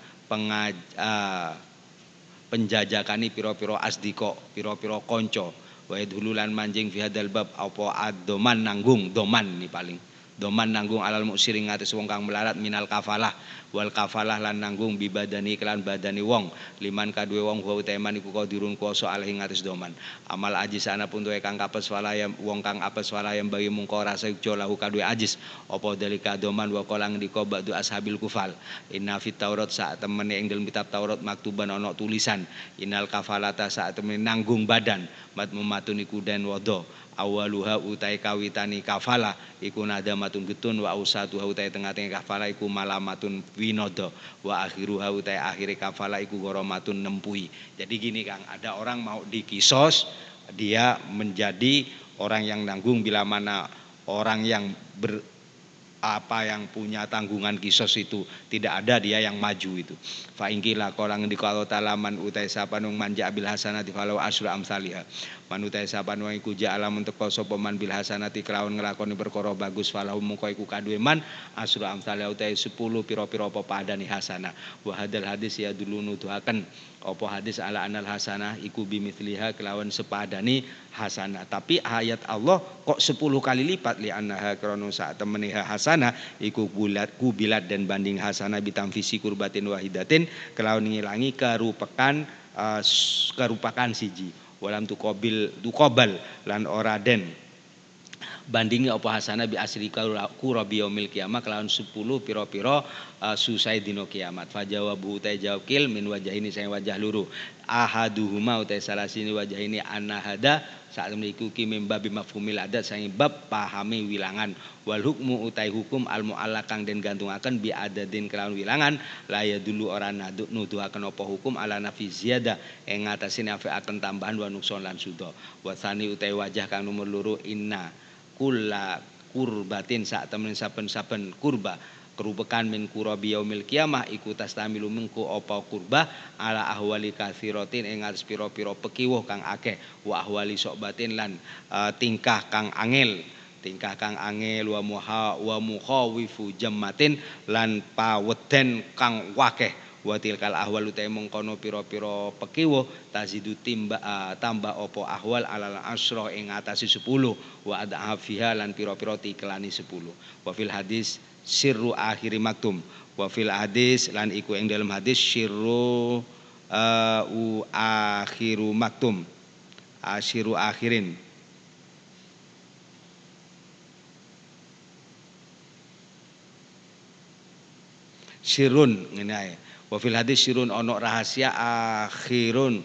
Speaker 1: penjajakani pira-pira asdiqa pira-pira kanca wa dululan manjing fi hadzal bab apa ad-doman nanggung doman ni paling Doman nanggung alal muksiri ngatas wong kang melarat minal kafalah wal kafalah lan nanggung bibadani kelan badani wong liman kadue wong wa uteman iku qadirun kuwasa alih ngatas doman amal ajis ana pun tuwe kang kapes walayam wong kang apes walayam bagi mungko rasa jo lahu kadue ajis apa dalika doman wa kolang diko ba'du ashabil kufal inna fit taurat saat temene ing dalem kitab Taurat maktuban ana tulisan innal kafalata saat temene nanggung badan mat mematuni kuden wado awaluha utai kawitani kafala iku nadamatun getun wa ausatuha utai tengah-tengah kafala iku malamatun winodo wa akhiruha utai akhiri kafala iku goromatun nempui. Jadi gini Kang, ada orang mau dikisos, dia menjadi orang yang nanggung bila mana orang yang yang punya tanggungan kisos itu tidak ada, dia yang maju itu. Fa ingkila kolang di kalau talaman utai sapanung manja bil hasanati falau asru amsalihah. Man utai sapanung iku ja'alam untuk sapa man bil hasanati kelawan nglakoni perkara bagus falau mungko iku kadue man asru amsalihah utai 10 pira-pira apa padane hasanah. Wa hadal hadis ya dulu nuduhaken apa hadis ala anal hasanah iku bimithliha kelawan sepadani hasanah. Tapi ayat Allah kok 10 kali lipat li annaha krana sak temene hasanah iku kubilat dan banding hasanah bitamfisi kurbatin wahidatin kelawan ngilangi kerupakan siji walam tukobal lan ora den bandingi apa hasanah bi asri kurabi yaumil kiamah kelawan 10 pira-pira susai dino kiamat fajawabu utai jawab kil min wajah ini saya wajah luru ahaduhuma utai salah sini wajah ini anahada saat memiliki mimbabi mafhumil adat sang bab pahami wilangan wal hukmu utai hukum al muallakang den gantungaken bi adadin kelawan wilangan laya dulu orang nuduhaken apa hukum ala nafi ziyada ing ngatasi nafi akan tambahan wa nukson lan sudo wasani utai wajah kang nomor loro inna kula kurbatin saat temen saben-saben kurba kerubekan min kurabi yaumil kiamah iku tastamilu mengko apa kurba ala ahwali katsiratin ing atas pira-pira pekiwuh kang akeh wa ahwali sobatin lan tingkah kang angel wa mukhawifu jammatin lan paweden kang wakeh wa tilkal ahwal uta mengkono pira-pira pekiwuh tazidu tambah apa ahwal alal asra ing atase 10 wa adha fiha lan pira-pira tikelani 10 wa fil hadis sirru akhiri maktum wa fil hadis lan iku ing dalam hadis sirru akhiru maktum asyiru akhirin sirun ngene ae wa fil hadis sirun ono rahasia akhirun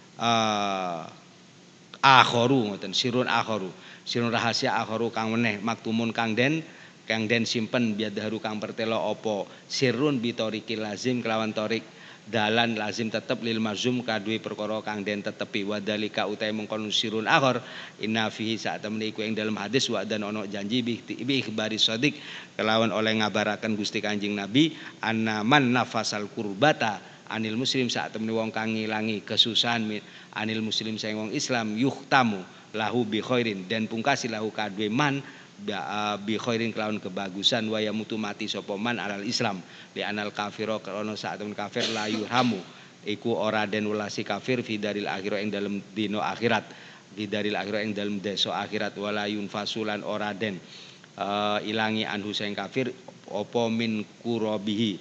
Speaker 1: akharu ngoten sirun rahasia akharu kang meneh maktumun kang den simpen biadharu kang pertelo opo sirrun bitoriki lazim kelawan torik dalan lazim tetep lil mazum kadue perkara kang den tetepi wadalika utai mengkon sirrun akhar inna fihi saat temene iku ing dalam hadis wa dan ono janji bi ikhbari shadiq kelawan oleh ngabaraken Gusti Kanjeng Nabi anna man nafasal kurbata anil muslim saat temene wong kang ngilangi kesusahan anil muslim saing wong Islam yuhtamu lahu bi khairin dan pungkasi lahu kadue man bi khairin kelawan kebagusan wa yamutu mati sapa man alal Islam li anal kafiro krana sak temen kafir la yurhamu iku ora den welasi kafir fi daril akhirah ing dalem dina akhirat fi daril akhirah ing dalem desa akhirat wala yunfasulan ora den ilangi anhu sing kafir apa min kurabihi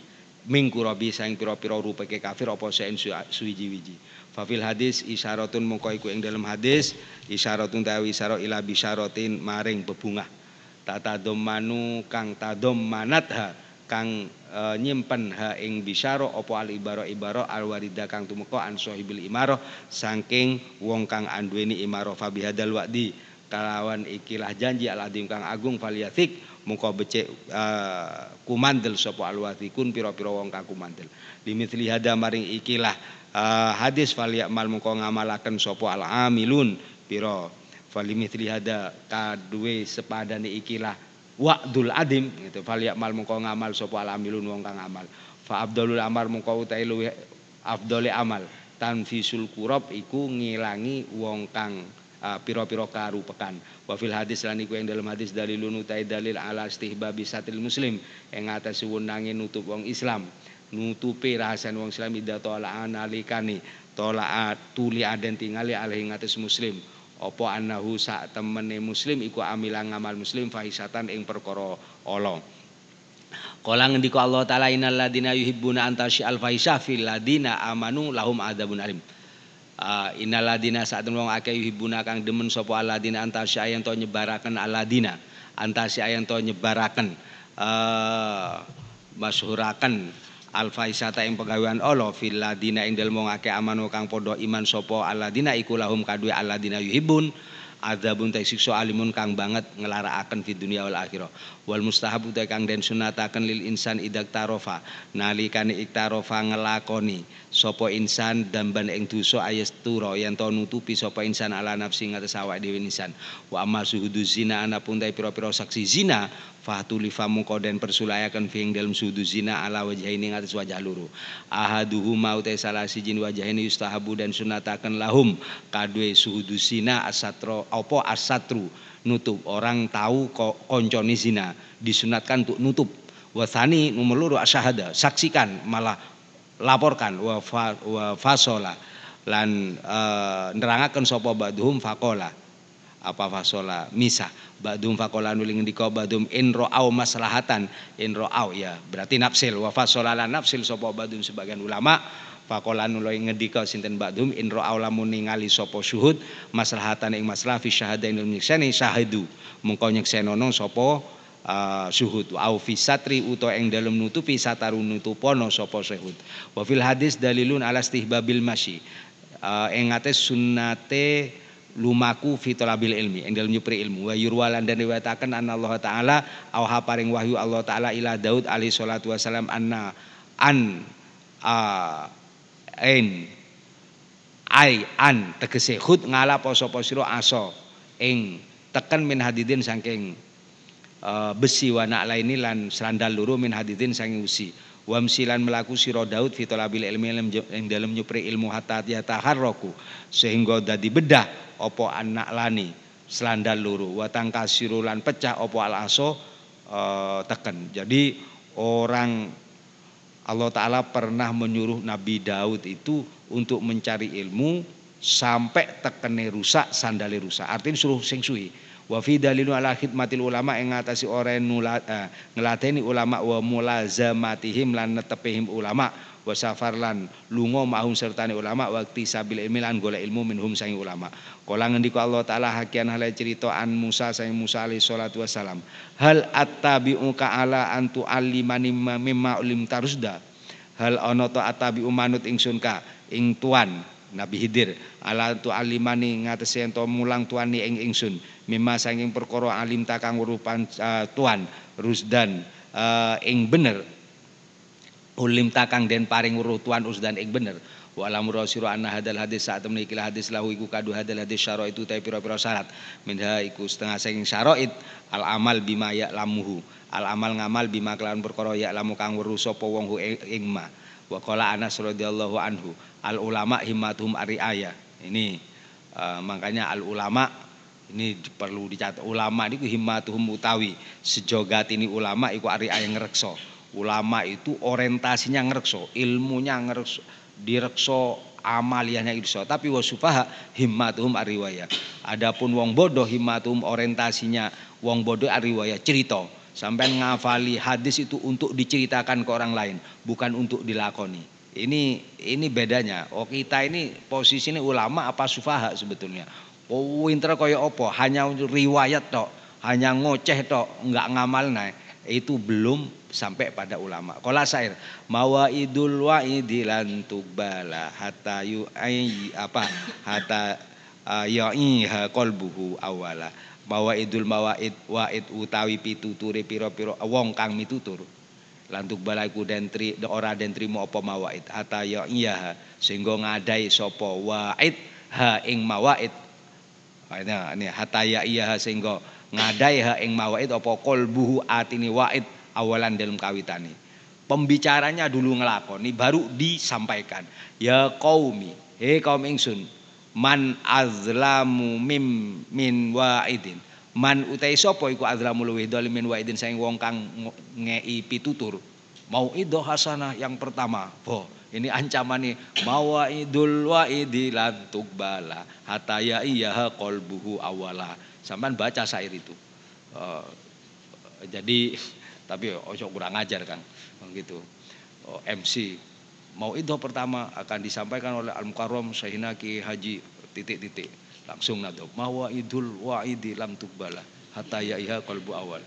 Speaker 1: saing pira-pira rupeke kafir apa saen suwiji-wiji fa fil hadis isyaratun mongko iku ing dalem hadis isyaratun tawi isyara ila bisyaratin maring bebungah tatadommanu kang tadommanatha kang nyimpen ha ing bisyara apa al ibaro al warida kang tumeka an sahibil imaro saking wong kang anduweni imaro fa bihadal wa'di kalawan ikilah janji al adim kang agung falyatik mungko becik kumandel sapa al wathikun pira-pira wong kang kumandel limithli hada maring ikilah hadis falyamal mungko ngamalaken sapa al amilun pira falimithli hada kadue sepadane ikilah wa'dul adim gitu falyamal mungko ngamal sapa alamilun wong kang amal fa afdalul amal mungko utahe luwih afdale amal tanfisul kurab iku ngilangi wong kang pira-pira karupekan wa fil hadis lan iku ing dalam hadis dalilun utahe dalil ala istihbabi satil muslim ing atase wenange nutup wong Islam nutupi rahasan wong Islam ida ta'ala analikani tola'at tuli aden tingali alih ngates muslim apa annahu sak temene muslim iku amilang ngamal muslim fahisatan ing perkara ala. Kala ngendika Allah taala innal ladina yuhibbuna antasy al fahisah fil ladina amanu lahum adzabun alim. Innal ladina sak temene wong akeh yuhibbuna kang demen sapa aladina antasy yen to nyebaraken aladina antasy yen to nyebaraken masyhuraken al fahisata ing pegawean Allah fil ladina ing dalem wong akeh amanu kang padha iman sapa aladina iku lahum kadue aladina yuhibbun adzabun ta siksa alimun kang banget ngelarakaken fi dunya wal akhirah. Wal mustahab ta kang den sunataken lil insan idak tarofa nalikane iktarofa ngelakoni sapa insan damban ing dosa ayastura yen to nutupi sapa insan ala nafsi ngates awake dhewe insan. Wa amma suhudu zina anapun ta pira-pira saksi zina fatulifa mungko den persulayaken fi ing dalem suhudu zina ala wajhaini ngates wajah loro. Ahaduhu mau ta salah siji wajhaini yustahabu dan sunataken lahum kadue suhudu zina asatro apa asatru nutup orang tahu koncone zina disunatkan untuk nutup. Wasani nomor loro asyhada saksikan malah laporkan wa fasola lan nerangaken sapa ba'dhum faqala apa fasola misah ba'dhum faqala nuling ngendika ba'dhum in ra'au maslahatan in ra'au ya berarti nafsil wa fasola lan nafsil sapa ba'dhum sebagian ulama faqala nuling ngendika sinten ba'dhum in ra'au lamun ningali sapa syuhud maslahatan ing masalah fi syahadain nyekseni syahidu mengko nyeksenono sapa syuhud au fi satri utawa ing dalem nutupi sataru nutupono sapa syuhud. Wa fil hadis dalilun ala istihbabil masyi ing ates sunnate lumaku fi talabil ilmi ing dalem nyupri ilmu wa yurwalan dan riwayataken anna Allah taala auha paring wahyu Allah taala ila Daud alaihi salatu wasalam anna an tegese khud ngalap sapa sira asa ing teken min hadidin saking besi wana laini lan sandal loro min hadidin saking usi wamsilan melaku sira Daud fi talabil ilmi ing dalem nyupri ilmu hatta yataharraku sehingga dadi bedah apa anak lani sandal loro wa tangkasiru lan pecah apa al aso teken. Jadi orang Allah Ta'ala pernah menyuruh Nabi Daud itu untuk mencari ilmu sampai tekene rusak, sandale rusak. Artinya suruh sing suwi. Wa fi dalilun ala khidmatil ulama ing ngatasi orang ngelateni ulama wa mulazamatihim lan netepihim ulama wa safar lan lunga mahum sertane ulama waktu sabil ilmi lan golek ilmu minhum sang ulama. Kala ngendika Allah Ta'ala hakian hale cerita an Musa sang Musa alaihi salatu wasalam. Hal attabi'uka ala antu alimani mimma ulim tarusda. Hal ana ta attabi'u manut ingsun ka ing tuan Nabi Khidir ala tu alimani ngatesi ento mulang tuani ing ingsun mimma sanging perkara alim ta kang rupan tuan rusdan ing bener ulim ta kang den paring weruh tuan usdan ing bener wa alam rasira anna hadal hadis saat temne iki hadis lahu iku kadu hadal hadis syara itu ta pira-pira syarat minha iku setengah saking syaraid al amal bima ya lamuhu al amal ngamal bima kelawan perkara ya lamu kang weruh sapa wong ing ma wa qala Anas radhiyallahu anhu al ulama himmatuhum ariaya. Ini makanya al ulama ini perlu dicatat. Ulama niku himmatuhum utawi sejogat ini ulama iku ariaya ngreksa. Ulama itu orientasinya ngreksa, ilmunya ngreksa, direksa amaliyahnya irsa. Tapi wasufaha himmatuhum ariwaya. Adapun wong bodoh himmatuhum orientasinya wong bodoh ariwaya cerita. Sampai ngafali hadis itu untuk diceritakan ke orang lain, bukan untuk dilakoni. Ini bedanya. Oh kita ini posisinya ulama apa sufaha sebetulnya. Oh winter kaya apa? Hanya riwayat tok, hanya ngoceh tok, enggak ngamal naik. Itu belum sampai pada ulama. Qala syair, mawaidul waidilan tuqbala hatta yu'i apa? Hatta ya'iha qalbuhu awala. Mawaidul mawaid waid utawi pituture pira-pira wong kang mitutur lantuk balaiku den ora den trimo apa mawaid hatta ya iya sehingga ngadai sapa waid ha ing mawaid ini hatta ya iya sehingga ngadai ha ing mawaid apa qalbuhu atini waid awalan dalam kawitane pembicaranya dulu ngelakoni baru disampaikan ya qaumi he kaum ingsun man azlamu min wa'idin man utai sapa iku azlamu luwih dolim min wa'idin saing wong kang ngei pitutur mau ido hasanah yang pertama Ini ancaman nih, mawaidul waidi lan tuqbala hatta ya iya qalbuhu awala. Sampean baca syair itu. Jadi tapi ojo kurang ajar Kang, gitu. MC mauidhah pertama akan disampaikan oleh Al-Mukarram Syekhina Ki Haji titik-titik. Langsung nado mawaidul waidi lam tuqbala hatta ya iya qalbu awal.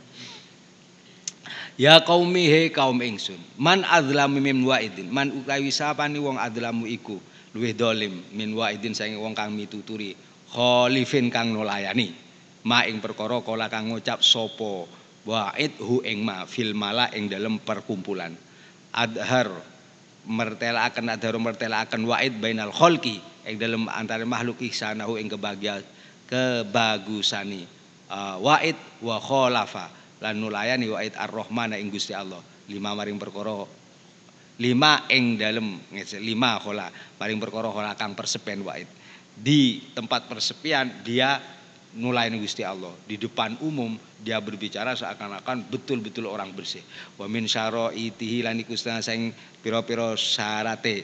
Speaker 1: Ya qaumi he kaum ingsun, man adzlamu min wa'idin, man utawi sapane wong adzlamu iku luwih dolim min wa'idin saking wong kang mituturi khalifin kang nolayani ma ing perkara kala kang ngucap sapa wa'id hu ing ma fil mala ing dalem perkumpulan adhar mertelaaken wa'id bainal khalqi ing dalem antara makhluk ihsanahu ing kebagusani wa'id wa khalafa lan nulayani wa'id ar-rahmana ing Gusti Allah lima maring perkara lima ing dalem lima khola maring perkara khola kang persepian wa'id di tempat persepian dia nulayani Gusti Allah di depan umum dia berbicara seakan-akan betul-betul orang bersih wa min syara'itihi lan iku sing pira-pira syarate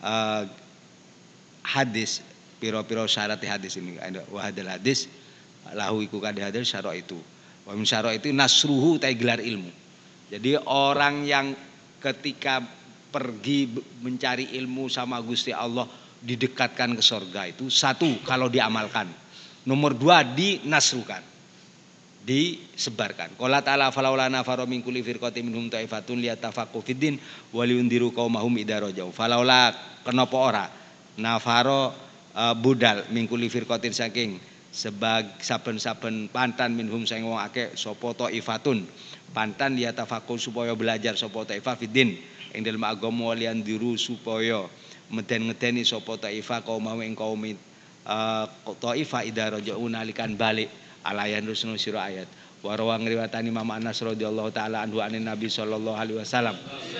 Speaker 1: hadis pira-pira syarate hadis ini wa hadal hadis lahu iku kadhe hadis syara itu wa min syara itu nasruhu ta gelar ilmu. Jadi orang yang ketika pergi mencari ilmu sama Gusti Allah didekatkan ke surga itu satu kalau diamalkan. Nomor dua dinasrukan. Disebarkan. Qala ta'ala falaula nafara min kulli firqatin minhum ta'ifatun liyatafaqahu fiddin wa liundiru qaumahum idza rajau. Falaula kenapa ora nafaro budal min kulli firqatin saking saben-saben pantan minhum sing wong akeh sapa taifatun pantan ya tafaqul supaya belajar sapa taifah fiddin ing dalem agama lian diru supaya meden-ngedeni sapa taifah kaum ing kaum taifah idza raja'u nalikan balik alayan rusnu sira ayat wa rawang riwayatani Imam Anas radhiyallahu taala anhu anin Nabi sallallahu alaihi wasallam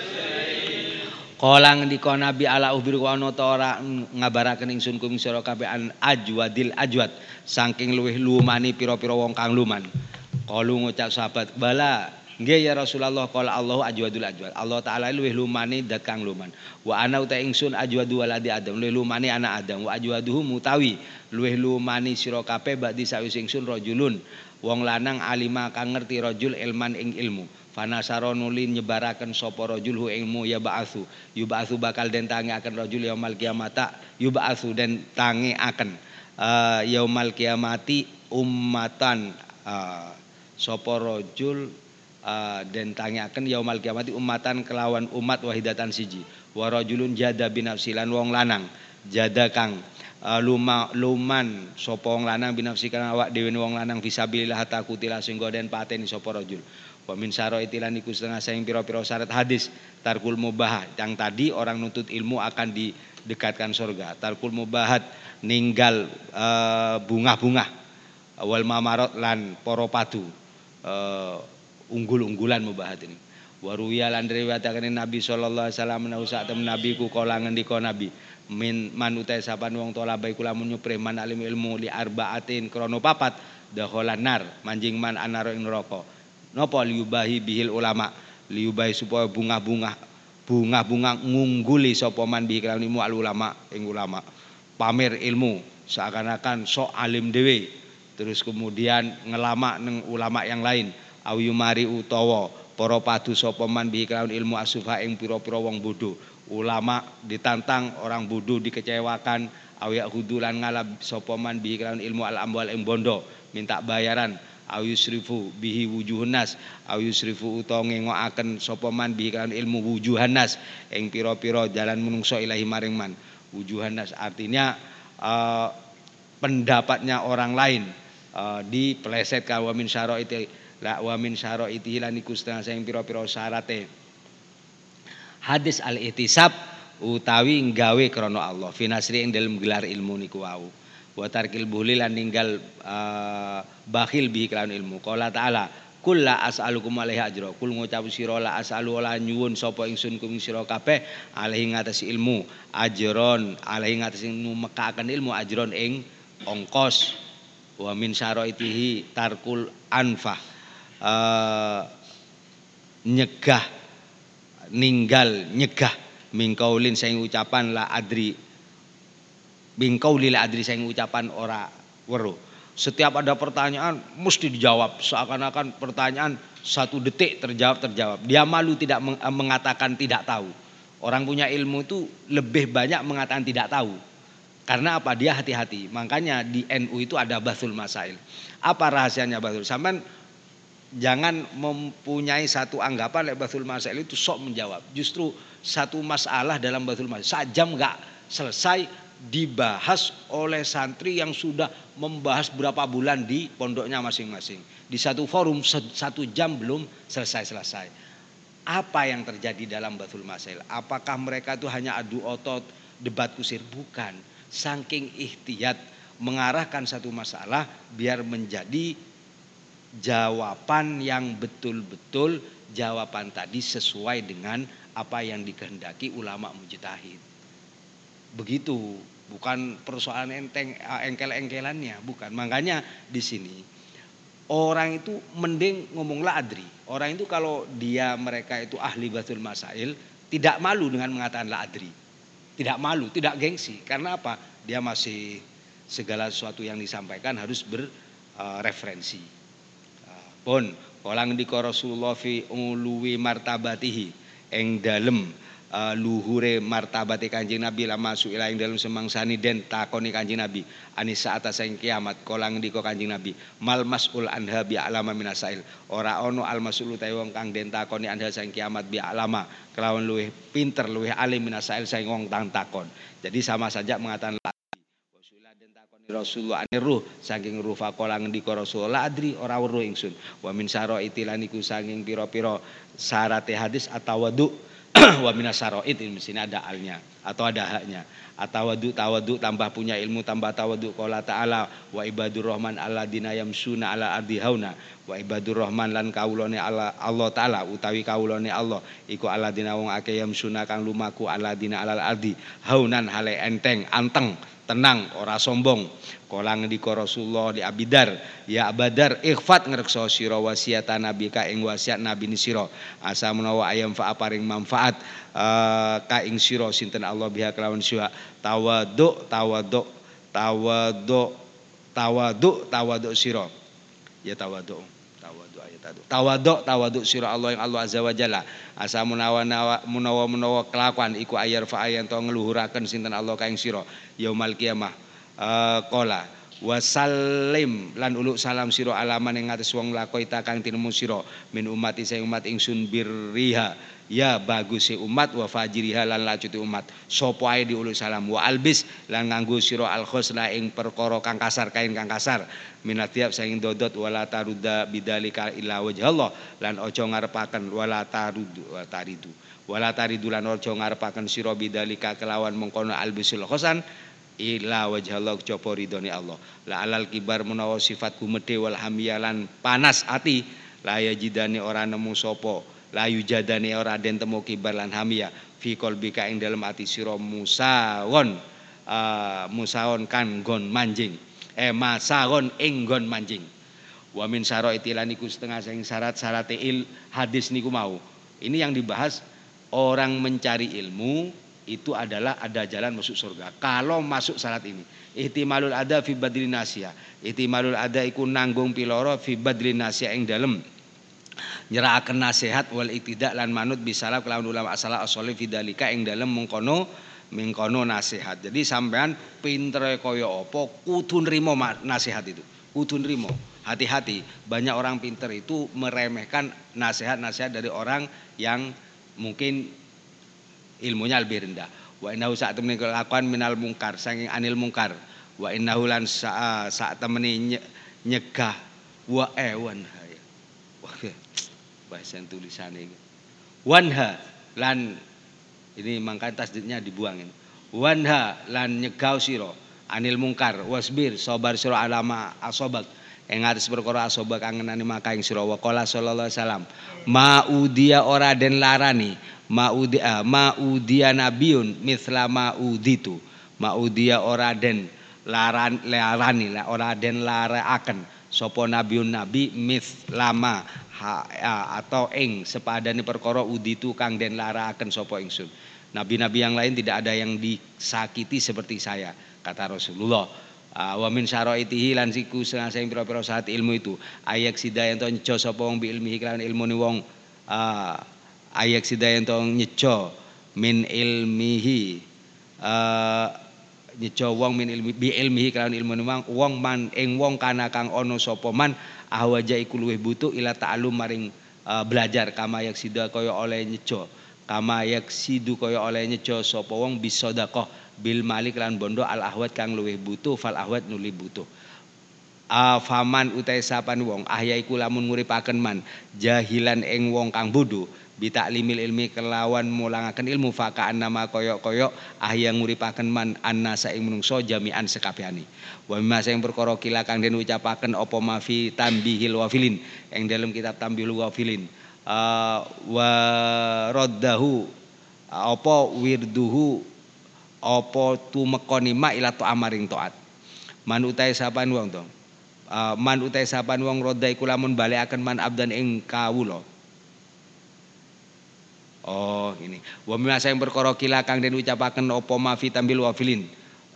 Speaker 1: Kala ngendika Nabi ala uhbiru ana ta ora ngabaraken ingsun kuming sira kabeh an ajwadil ajwad saking luwih lumani pira-pira wong kang luman. Kalu ngucap sahabat bala nggih ya Rasulullah qala Allahu ajwadul ajwad. Allah taala luwih lumani dat kang luman. Wa ana uta ingsun ajwadu waladi Adam luwih lumani anak Adam wa ajwaduhu mutawi luwih lumani sira kabeh ba'di sawise ingsun rajulun wong lanang alima kang ngerti rajul ilman ing ilmu. Fanasaro nulin nyebaraken sapa rajul hu ilmu ya ba'atsu yub'atsu bakal den tangi akan rajul yaumal kiamata yub'atsu den tangi akan yaumal kiamati ummatan sapa rajul den tangi akan yaumal kiamati ummatan kelawan umat wahidatan siji wa rajulun jada binafsilan wong lanang jada kang luman sapa wong lanang binafsi kang awak dhewe wong lanang fisabilillah takutila sehingga den pateni sapa rajul. Wa min syara'itilan iku setengah saing pira-pira syarat hadis tarkul mubah yang tadi orang nuntut ilmu akan didekatkan surga. Tarkul mubahat ninggal bunga-bunga wal mamarot lan para padu unggul-unggulan mubahat ini. Wa ruwiya lan riwayataken Nabi sallallahu alaihi wasallam menawi sak temen Nabi ku kala ngendika Nabi min manutai sapan wong tola baik kula nyuprih man alim ilmu li arbaatin krana papat dakhalan nar manjing man anaro ing neraka. Napa liubahi bihil ulama liubahi supaya bunga-bunga ngungguli sapa man bihi kelawan ilmu al ulama ing ulama pamer ilmu seakan-akan sok alim dhewe terus kemudian ngelama neng ulama yang lain awiyumari utawa para padu sapa man bihi kelawan ilmu asufa ing pira-pira wong bodho ulama ditantang orang bodho dikecewakan awiya hudulan ngalap sapa man bihi kelawan ilmu al amwal ing bondo minta bayaran ayusrifu bihi wujuhnas ayusrifu utawa ngengokaken sapa man bihi kan ilmu wujuhanas ing pira-pira jalan menungso ilahi maring man wujuhanas artinya pendapatnya orang lain dipelesetkan wa min syara'iti la wa min syara'iti lan iku setengah sing pira-pira syarate hadis al-ihtisab utawi nggawe krana Allah finasri ing dalem gelar ilmu niku wau wa tarkil buhli lan ninggal bakhil bihi kelawan ilmu. Qala ta'ala kul la as'alukum alaihi ajra. Kul ngucap sira la as'alu la nyuwun sapa ingsun kuming sira kabeh alaihi ngatasi ilmu ajron alaihi ngatasi numekaken ilmu ajron ing ongkos wa min syaraitihi tarkul anfah nyegah ninggal nyegah mingkaulin saing ucapan la adri, mingkauli la adri saing ucapan ora weruh. Setiap ada pertanyaan mesti dijawab, seakan-akan pertanyaan 1 detik terjawab. Dia malu tidak mengatakan tidak tahu. Orang punya ilmu itu lebih banyak mengatakan tidak tahu. Karena apa? Dia hati-hati. Makanya di NU itu ada bathul masail. Apa rahasianya bathul? Sampai jangan mempunyai satu anggapan bathul masail itu sok menjawab. Justru satu masalah dalam bathul masail 1 jam enggak selesai dibahas oleh santri yang sudah membahas berapa bulan di pondoknya masing-masing. Di satu forum 1 jam belum selesai-selesai. Apa yang terjadi dalam bathul masail? Apakah mereka itu hanya adu otot, debat kusir? Bukan. Saking ihtiyat mengarahkan satu masalah biar menjadi jawaban yang betul-betul jawaban tadi sesuai dengan apa yang dikehendaki ulama mujtahid. Begitu, bukan persoalan engkel-engkelannya, bukan. Makanya di sini orang itu mending ngomong la adri. Orang itu kalau mereka itu ahli bathul masail tidak malu dengan mengatakan la adri. Tidak malu, tidak gengsi. Karena apa? Dia masih segala sesuatu yang disampaikan harus berreferensi. Pun kolang di Rasulullah fi uluwi martabatihi eng dalem luhure martabate Kanjeng Nabi lama suila ing dalem semangsani den takoni Kanjeng Nabi anisa atas ing kiamat kolang di Kanjeng Nabi mal masul anha bi alama minasail ora ono al masul utawi wong kang den takoni anha sing kiamat bi alama kelawan luwih pinter luwih alim minasail sing wong tang takon. Jadi sama saja mengatakan Rasulullah aniruh saking ruh faqala ngendika Rasulullah adri ora weruh ingsun wa min syaraiti lan iku saking pira-pira syarate hadis atawadu wa minas syaraid di sini ada alnya atau ada haknya tawadu tambah punya ilmu tambah tawadu qala ta'ala wa ibadur rahman alladzina yamsuna ala ardi hauna wa ibadur rahman lan kaulane Allah taala utawi kaulane Allah iku alladzina wong akeh yamsuna kang lumaku alladzina alal ardi haunan hale enteng anteng tenang ora sombong. Kolang di Rasulullah di Abidar ya Abadar ikhfat ngrekso sira wasiata nabi ka ing wasiat nabi ni sira asa menawa ayam fa paring manfaat ka ing sira sinten Allah biha kelawan sira tawadu sira ya tawadu sira Allah yang Allah azza wa jalla asa menawa kelakuan iku ayar fa ayan to ngluhuraken sinten Allah ka ing sira yaumal kiamah qala wasallim lan uluk salam sira alaman ing ngates wong lakoita kang tinemu sira min umati sing umat ingsun birriha ya baguse umat wa fajiriha lan lacuti umat sapa ae diuluk salam wa albis lan nganggo sira al khusna ing perkara kang kasar kain kang kasar minatiab saing dodot wala taruda bidzalika illa wajhallah lan aja ngarepaken wala taridu lan aja ngarepaken sira bidzalika kelawan mengkono albisul khosan ila wajhallah copo ridhone Allah la alal kibar menawa sifat gumedhe wal hamiyalan panas ati la yajidane ora nemu sapa la yujadane ora den temu kibar lan hamiyah fi qalbika ing dalem ati sira musawon kan nggon manjing masaron ing nggon manjing wa min syaraiti lan iku setengah sing syarat-syarate hadis niku mau ini yang dibahas orang mencari ilmu itu adalah ada jalan masuk surga kalau masuk syarat ini. Ihtimalul ada fi badlin nasya. Ihtimalul ada iku nanggung piloro fi badlin nasya ing dalem nyerahkeun nasihat wal iktidak lan manut bisalaf kelawan ulama asala asole fi dalika ing dalem mengkono nasihat. Jadi sampean pintere kaya apa kudu nrimo nasihat itu. Kudu nrimo. Hati-hati, banyak orang pinter itu meremehkan nasihat-nasihat dari orang yang mungkin ilmunya lebih rendah. Wa innahu saat temene kelakuan minal mungkar saking anil mungkar. Wa innahu lan saat temene nyegah wa wanha. Wah, bahasa tulisannya ini. Wanha lan ini mangkat tasdidnya dibuangin. Wanha lan nyegah sira anil mungkar wasbir sabar sira alama asobak ing atus perkara asobak kangenane maka ing sira wa qala sallallahu alaihi wasallam maudia ora den larani maudia nabiun misla mauditu maudia ora den larani ora den laraaken sapa nabiun nabi mislama atau ing sepadane perkara uditu kang den laraaken sapa ingsun Nabi-nabi yang lain tidak ada yang disakiti seperti saya, kata Rasulullah. Wa min syaraitihi lan siku sing pira-pira syarat ilmu itu ayak sidayan to nyejo sapa wong bi ilmihi kan ilmune wong ayak sidayan to nyejo min ilmihi nyejo wong min ilmi bi ilmihi kan ilmune wong man ing wong kana kang ana sapa man ahwaja iku luwih butuh ila ta'allum maring belajar kama yak sida kaya oleh nyejo kama yak sidu kaya oleh nyejo sapa wong bisa sedekah bil malik lan bondo al ahwat kang luwih butuh fal ahwat nuli butuh faman utai sapan wong ahyaiku lamun nguripaken man jahilan ing wong kang bodho bitaklimil ilmi kelawan mulangaken ilmu fakaan nama koyok-koyok ahya nguripaken man annasa ing menungso jami'an sekabehane wa mimma sing perkara kila kang den ucapaken apa mafi tambihil wafilin ing dalam kitab tambihil wafilin wa raddahu apa wirduhu apa tumekoni ma ila to amaring taat man utai sapan wong to man utai sapan wong rodha iku lamun balekaken man abdan ing kawula ini wa mimma sing perkara kila kang den ucapaken apa ma fi tambil wafilin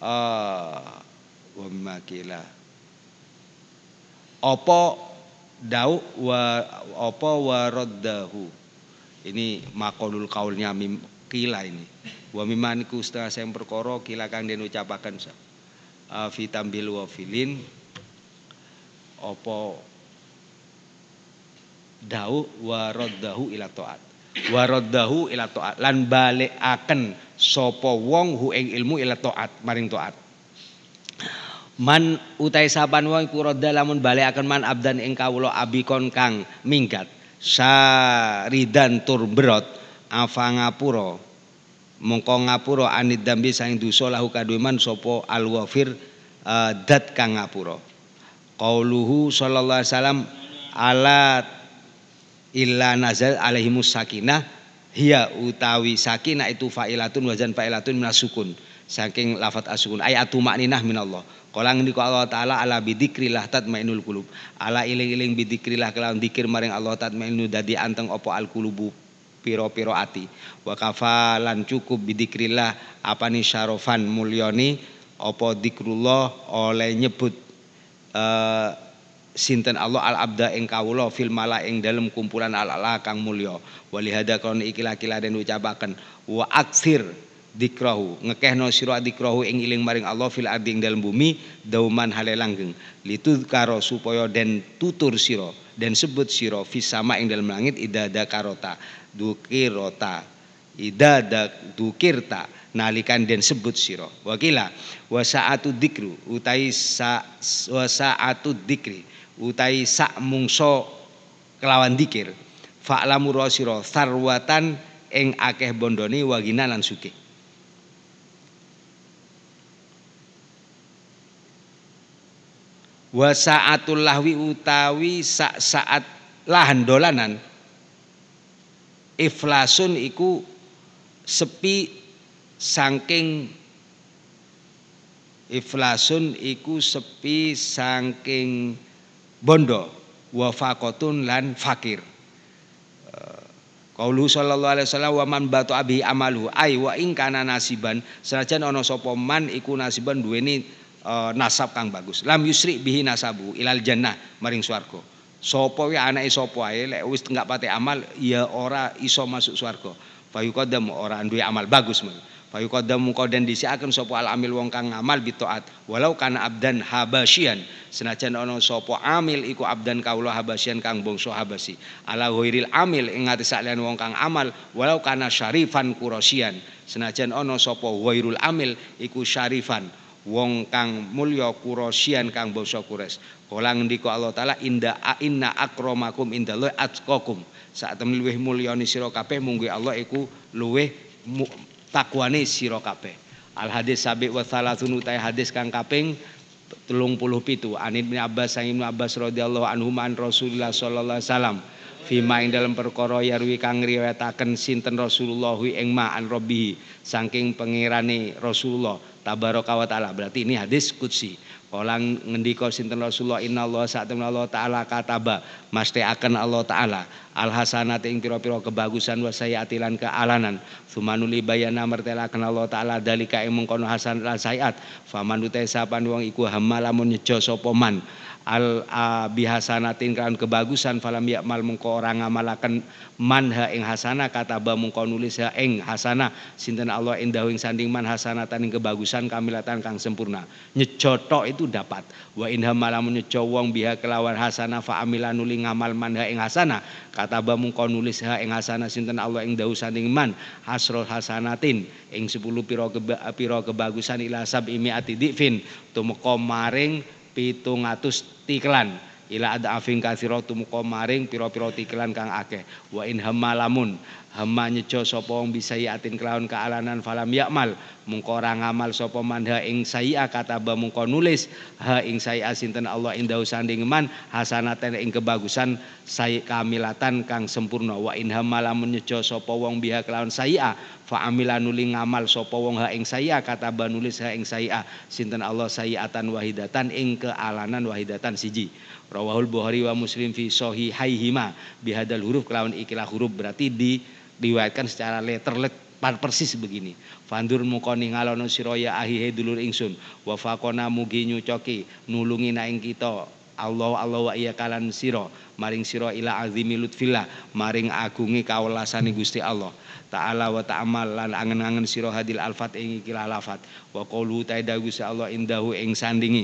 Speaker 1: wa mimma kila apa dau wa apa waraddahu ini maqalul qaulnya kila ini wa mimman iku setengah sing perkara kila kang den ucapaken fi tambil wa filin apa dau wa raddahu ila taat wa raddahu ila taat lan balekaken sapa wong hu ing ilmu ila taat maring taat man utai saban wong iku radda lamun balekaken man abdan ing kawula abikon kang minggat saridan tur berot afa ngapura mongko ngapura anid dambi saing dosa lahu kaduman sapa alwafir dat kang ngapura qauluhu sallallahu alaihi wasallam ala illa nazal alaihimus sakinah hiya utawi sakinah itu fa'ilatun wazan fa'ilatun minasukun saking lafat asukun ayatu makninah minallah qala ngendika Allah taala ala bidzikrillah tatmainul qulub ala iling-iling bidzikrillah kelawan zikir maring Allah tatmainu dadi anteng apa alqulubu piro-piro ati wa kafalan cukup bidzikrillah apane syarofan mulyani apa dzikrullah oleh nyebut sinten Allah al abda ing kawula fil mala ing dalem kumpulan al ala kang mulya walihada kon iki laki-laki den ucapaken wa aksir dzikrahu ngekehno sira dzikrahu ing iling maring Allah fil ardi ing dalem bumi dauman hale langgeng lituzkaro supaya den tutur sira den sebut sira fis sama ing dalem langit idada karota dukirota idada dukirta nalikan den sebut sira wakila wa saatu dzikru utai wa saatu dzikri utai sak mungso kelawan dzikir fa'lamu rasira sarwatan ing akeh bondone wagina lan sugih wa saatul lahwi utawi saat lahan dolanan iflasun iku sepi saking iflasun iku sepi saking bondo wa faqatun lan fakir qaulu sallallahu alaihi wasallam wa man batu abi amalu ai wa ing kana nasiban senajan ana sapa man iku nasiban duweni nasab kang bagus lam yusri bihi nasabu ilal jannah maring swarga sapa wae anake sapa ae lek wis enggak pate amal ya ora iso masuk swarga fayuqaddam ora duwe amal bagus men fayuqaddam qadan disiaken sapa al amil wong kang ngamal bi taat walau kana abdan habasyian senajan ana sapa amil iku abdan kaula habasyian kang bangsa habasi ala ghairil amil ing ngati sakliyan wong kang amal walau kana syarifan qurasyian senajan ana sapa ghairul amil iku syarifan wong kang mulya Quraisyan kang bangsa Quraisy. Kala ngendika Allah taala inna akramakum indallahi atqakum. Sak temen luwih mulyane sira kabeh mungguh Allah iku luwih takwane sira kabeh. Al hadis sabi wa salatun utai hadis kang kaping 37 An Ibnu Abbas sang Ibnu Abbas radhiyallahu anhu man Rasulullah sallallahu alaihi wasallam fima ing dalam perkara yarwi kang riwayataken sinten Rasulullah ing ma an rabbihi saking pangerane Rasulullah tabaraka wa taala. Berarti ini hadis qudsi. Kala ngendika sinten Rasulullah innallaha sa'atuna Allah taala kataba mastekaken Allah taala al hasanati ing pira-pira kebagusan wa sayiati lan kealanan sumanuli bayana mertelaken Allah taala dalika ing mengkono hasan lan sayiat faman uta sapan wong iku hamalamun nyejo sapa man al bihasanatin kan kebagusan falam yakmal mengko ora ngamalaken manha ing hasanah kataba mengko nulis ha ing hasanah sinten Allah indahu ing sanding man hasanatan ing kebagusan kamilatan kang sempurna nyejo tok itu dapat wa inha malamun nyejo wong biha kelawan hasanah fa amila nuli ngamal manha ing hasanah kataba mengko nulis ha ing hasanah sinten Allah ing dahu sanding man hasrul hasanatin ing 10 pira kebagusan ila sab'i mi'ati difin tumeka maring 700 tiklan ila ada afing katsira tumeka maring pira-pira tiklan kang akeh wa in hamalamun hamma nyejo sapa wong bisayatin kelawan kealanan falam yakmal mungko ora ngamal sapa manha ing sayya kataba mungko nulis ha ing sayya sinten Allah indahu sanding man hasanatan ing kebagusan say kamilatan kang sempurna wa in hamalamun nyejo sapa wong biha kelawan sayya fa amila nuli ngamal sapa wong ha ing sayya kataba nulis ha ing sayya sinten Allah sayyatan wahidatan ing kealanan wahidatan siji. Rawahul Bukhari wa Muslim fi sahihaihima bihadal huruf kelawan ikilah huruf berarti diriwayatkan secara letter persis begini. Fandur muka ningalono sira ya ahihe dulur ingsun wa faqona mugi nyucoki nulungi na ing kita Allah wa iya kalan sira maring sira ila azimi lutfillah maring agunge kawelasane Gusti Allah ta'ala wa ta'amal lan angen-angen sira hadil alfat ing ikilah lafat wa qaulu ta'ala Gusti Allah indahu ing sandingi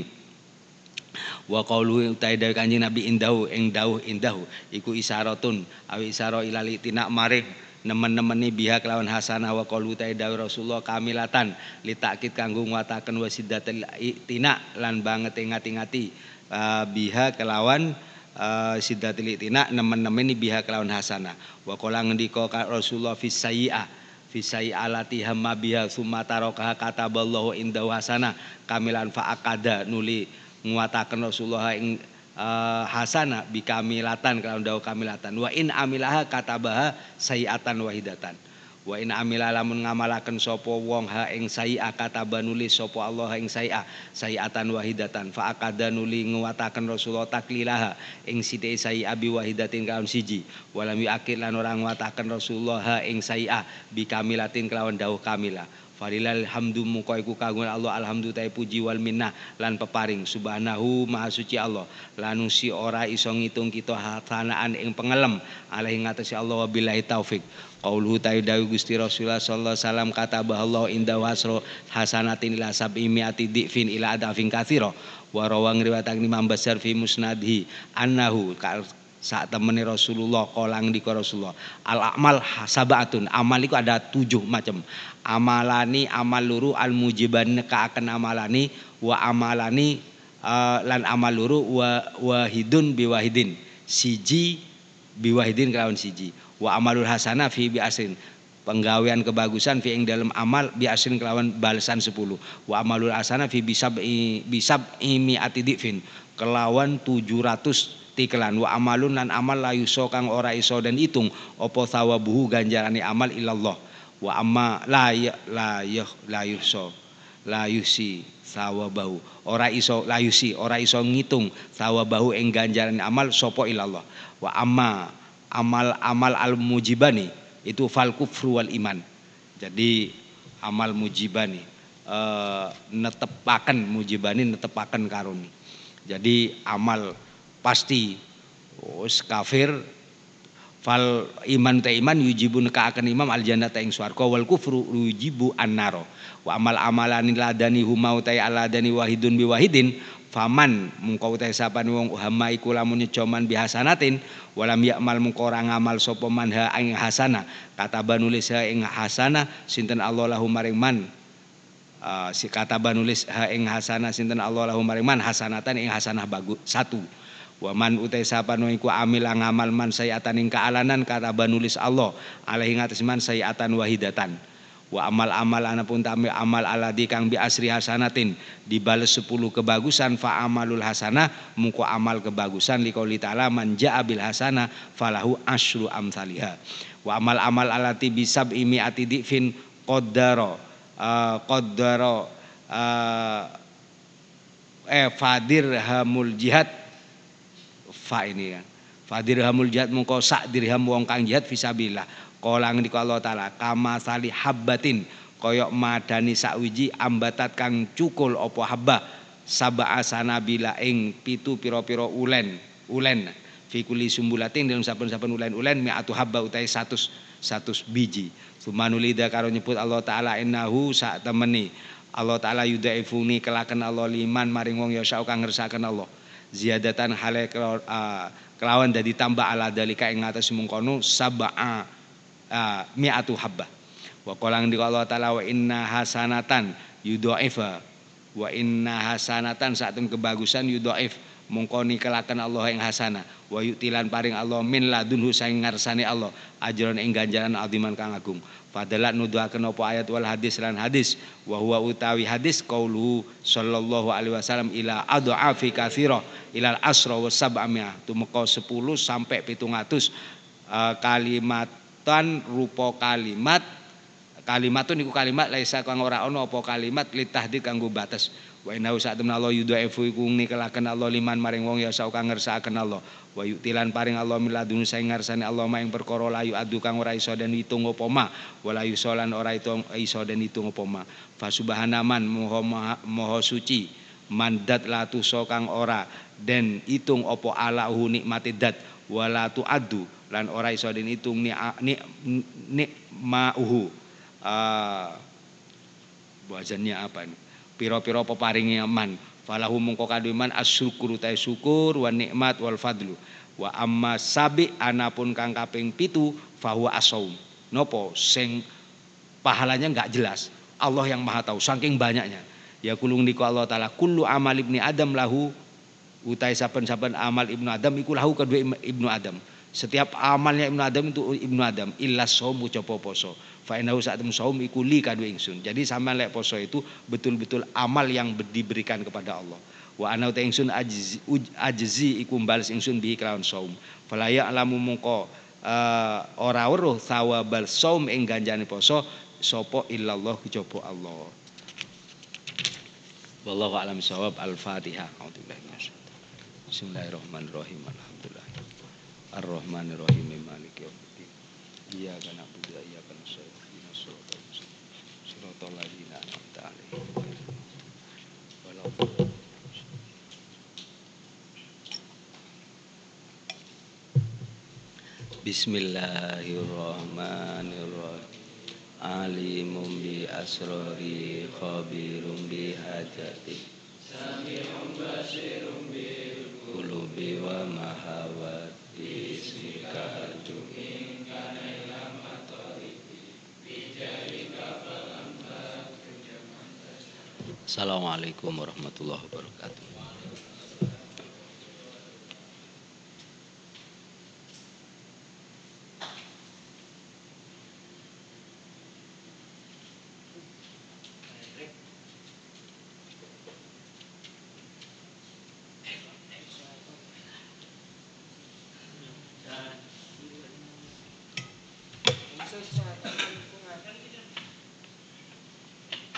Speaker 1: wa qaulu ta'ala kanjeng Nabi indahu ing dawuh indahu iku isyaratun awi isyara ilal itina maring nemen-nemeni biha kelawan hasanah wa qaulu ta'ala Rasulullah kamilatan litakid kanggo nguataken wasidatul itina lan banget ngati-ngati biha kelawan sidatul itina nemen-nemeni biha kelawan hasanah wa qala ngendika Rasulullah fi sayyi'a lati hamma biha summa taraka kataballahu indahu hasanah kamilan fa akada nuli nguataken Rasulullah ing hasanah bikamilatan kelawan dawuh kamilatan wa in amilaha katabaha sayiatan wahidatan wa in amila lamun ngamalaken sapa wong ha ing sayi'a kataba nulis sapa Allah ing sayiatan wahidatan fa akada nuli nguataken Rasulullah taklilaha ing sithik sayi'a bi wahidatin kelawan siji walam yakil lan ora nguataken Rasulullah ha ing sayi'a bikamilatin kelawan dawuh kamilah Falilal hamdu muka iku kagungan Allah alhamdu ta'i puji wal minnah lan peparing subhanahu maha suci Allah lanusi ora iso ngitung kita hasanaan ing pengelem alaihi ngatasi Allah wabillahi taufik qauluhu ta'i dawi Gusti Rasulullah sallallahu alaihi wasallam katabah Allah inda wasro hasanatin ila sab'i mi'ati difin ila adafin katsira wa rawang riwayatan Imam Basar fi musnadhi annahu saat temene Rasulullah kolang di Rasulullah al amal sabatun amal itu ada 7 macam amalani amal luru al mujiban ka akan amalani wa amalani lan amal luru wa wahidun biwahidin siji biwahidin kelawan siji wa amalul hasanah fi bi asrin penggawean kebagusan fi ing dalam amal bi asrin kelawan balasan 10 wa amalul hasanah fi bisab mi'ati difin kelawan 700 tiklan wa amalun lan amal la yuso kang ora iso dan hitung apa thawabuhu ganjarane amal ilallah wa amma la yuso la yusi thawabahu ora iso la yusi ora iso ngitung thawabahu ing ganjarane amal sapa ilallah wa amma amal al mujibani itu fal kufru wal iman jadi amal mujibani netepaken mujibani netepaken karuni jadi amal pasti kafir fal iman ta iman yujibun ka akan imam al jannata ing swarga wal kufru yujibu annaro wa amal amalan ladani humau ta aladani wahidun bi wahidin faman mungko ta sapane wong hama iku lamun nyoman bihasanatin walam yakmal mungko ora ngamal sapa man ha ing hasanah kata banulis ing hasanah sinten Allah lahu maring man si kata banulis ha ing hasanah sinten Allah lahu maring man hasanatan ing hasanah bagus satu wa man utai sapano iku amil ngamal man sayiatan ing kaalanan kata banulis Allah alaihi ngatas man sayiatan wahidatan wa amal anapun tamil amal aladi kang bi asri hasanatin dibales 10 kebagusan fa amalul hasanah mungko amal kebagusan liqouli ta'ala man jaa bil hasanah falahu asyru amsalihha wa amal alati bisab imiati difin qaddara fadirhamul jihad fa ini kan. Fadirhamul jihad mungko sak dirham wong kang jihad fisabilillah. Kala ngendika Allah taala kama sali habbatin koyok madani sakwiji ambatat kang cukul apa habba sab'a sanabila ing pitu pira-pira ulen fi kulli sumbulatin dalam saben-saben ulen mi'atu habba utai 100 biji. Sumanulida karo nyebut Allah taala innahu sak temeni Allah taala yudaifuni kelaken Allah liman maring wong ya kang ngersakaken Allah. Ziyadatan hale kelawan dadi tambah ala dalika ing ngatos mungkono sab'a mi'atu habba. Wa qala ngendika Allah taala wa inna hasanatan yudhaifa wa inna hasanatan satem kebagusan yudhaif mongko nikelaken Allah ing hasanah wa yutilan paring Allah min ladunhu saing ngarsane Allah ajron ing ganjaran aziman kang agung. Fadalat nuduhaken apa ayat wal hadis lan hadis wa huwa utawi hadis qauluhu sallallahu alaihi wasallam ila adhafi katsira ilal asra wa sab'amia tumeka 10 sampai 700 kalimatan rupa kalimatun iku kalimat laisa kang ora ana apa kalimat litahdid kanggo batas. Wa innahu sa'atun Allah yudhaifu iku nikelaken Allah liman maring wong ya kang ngersakaken Allah. Wa yutilan paring Allah miladun saing ngarsane Allah maing perkara layu adu kang ora iso den hitung apa ma wala yusolan ora iso den hitung apa ma. Fa subhanaman moho suci mandat latu so kang ora den hitung apa alahu nikmati dat wala tuaddu lan ora iso den hitung nikmauhu wazannya apa ini pira-pira peparingi man falahu mungko kadheman asyukuru ta syukur wa nikmat wal fadlu wa amma sabi anapun kang kaping 7 fahuwa asaum nopo sing pahalanya enggak jelas Allah yang maha tahu saking banyaknya ya kulung niku Allah taala kullu amal ibni adam lahu utai saben-saben amal ibnu adam iku lahu kedua ibnu adam setiap amalnya ibnu adam itu ibnu adam illa shaum ucapa poso fa innahu sa'atum shaum iku li kadue ingsun. Jadi sama lek poso itu betul-betul amal yang diberikan kepada Allah. Wa ana ta ingsun ajzi iku bales ingsun bi kelawan shaum. Fala ya'lamu mungko ora weruh thawabal shaum ing ganjane poso sapa illallah kejaba Allah. Wallahu a'lam shawab. Al-Fatihah. Bismillahirrahmanirrahim. Alhamdulillah. Ar-Rahmanirrahim. Maliki yaumiddin. Iyyaka na'budu wa iyyaka nasta'in. Shiratal ladzina an'amta 'alaihim. Bismillahirrahmanirrahim. Alimun bi asrori khabirum bi hajati sami'un basirun bil qulubi wa mahawat bismika tu'in kana ilam matori bijarika falamma. Assalamualaikum warahmatullahi wabarakatuh. Susah.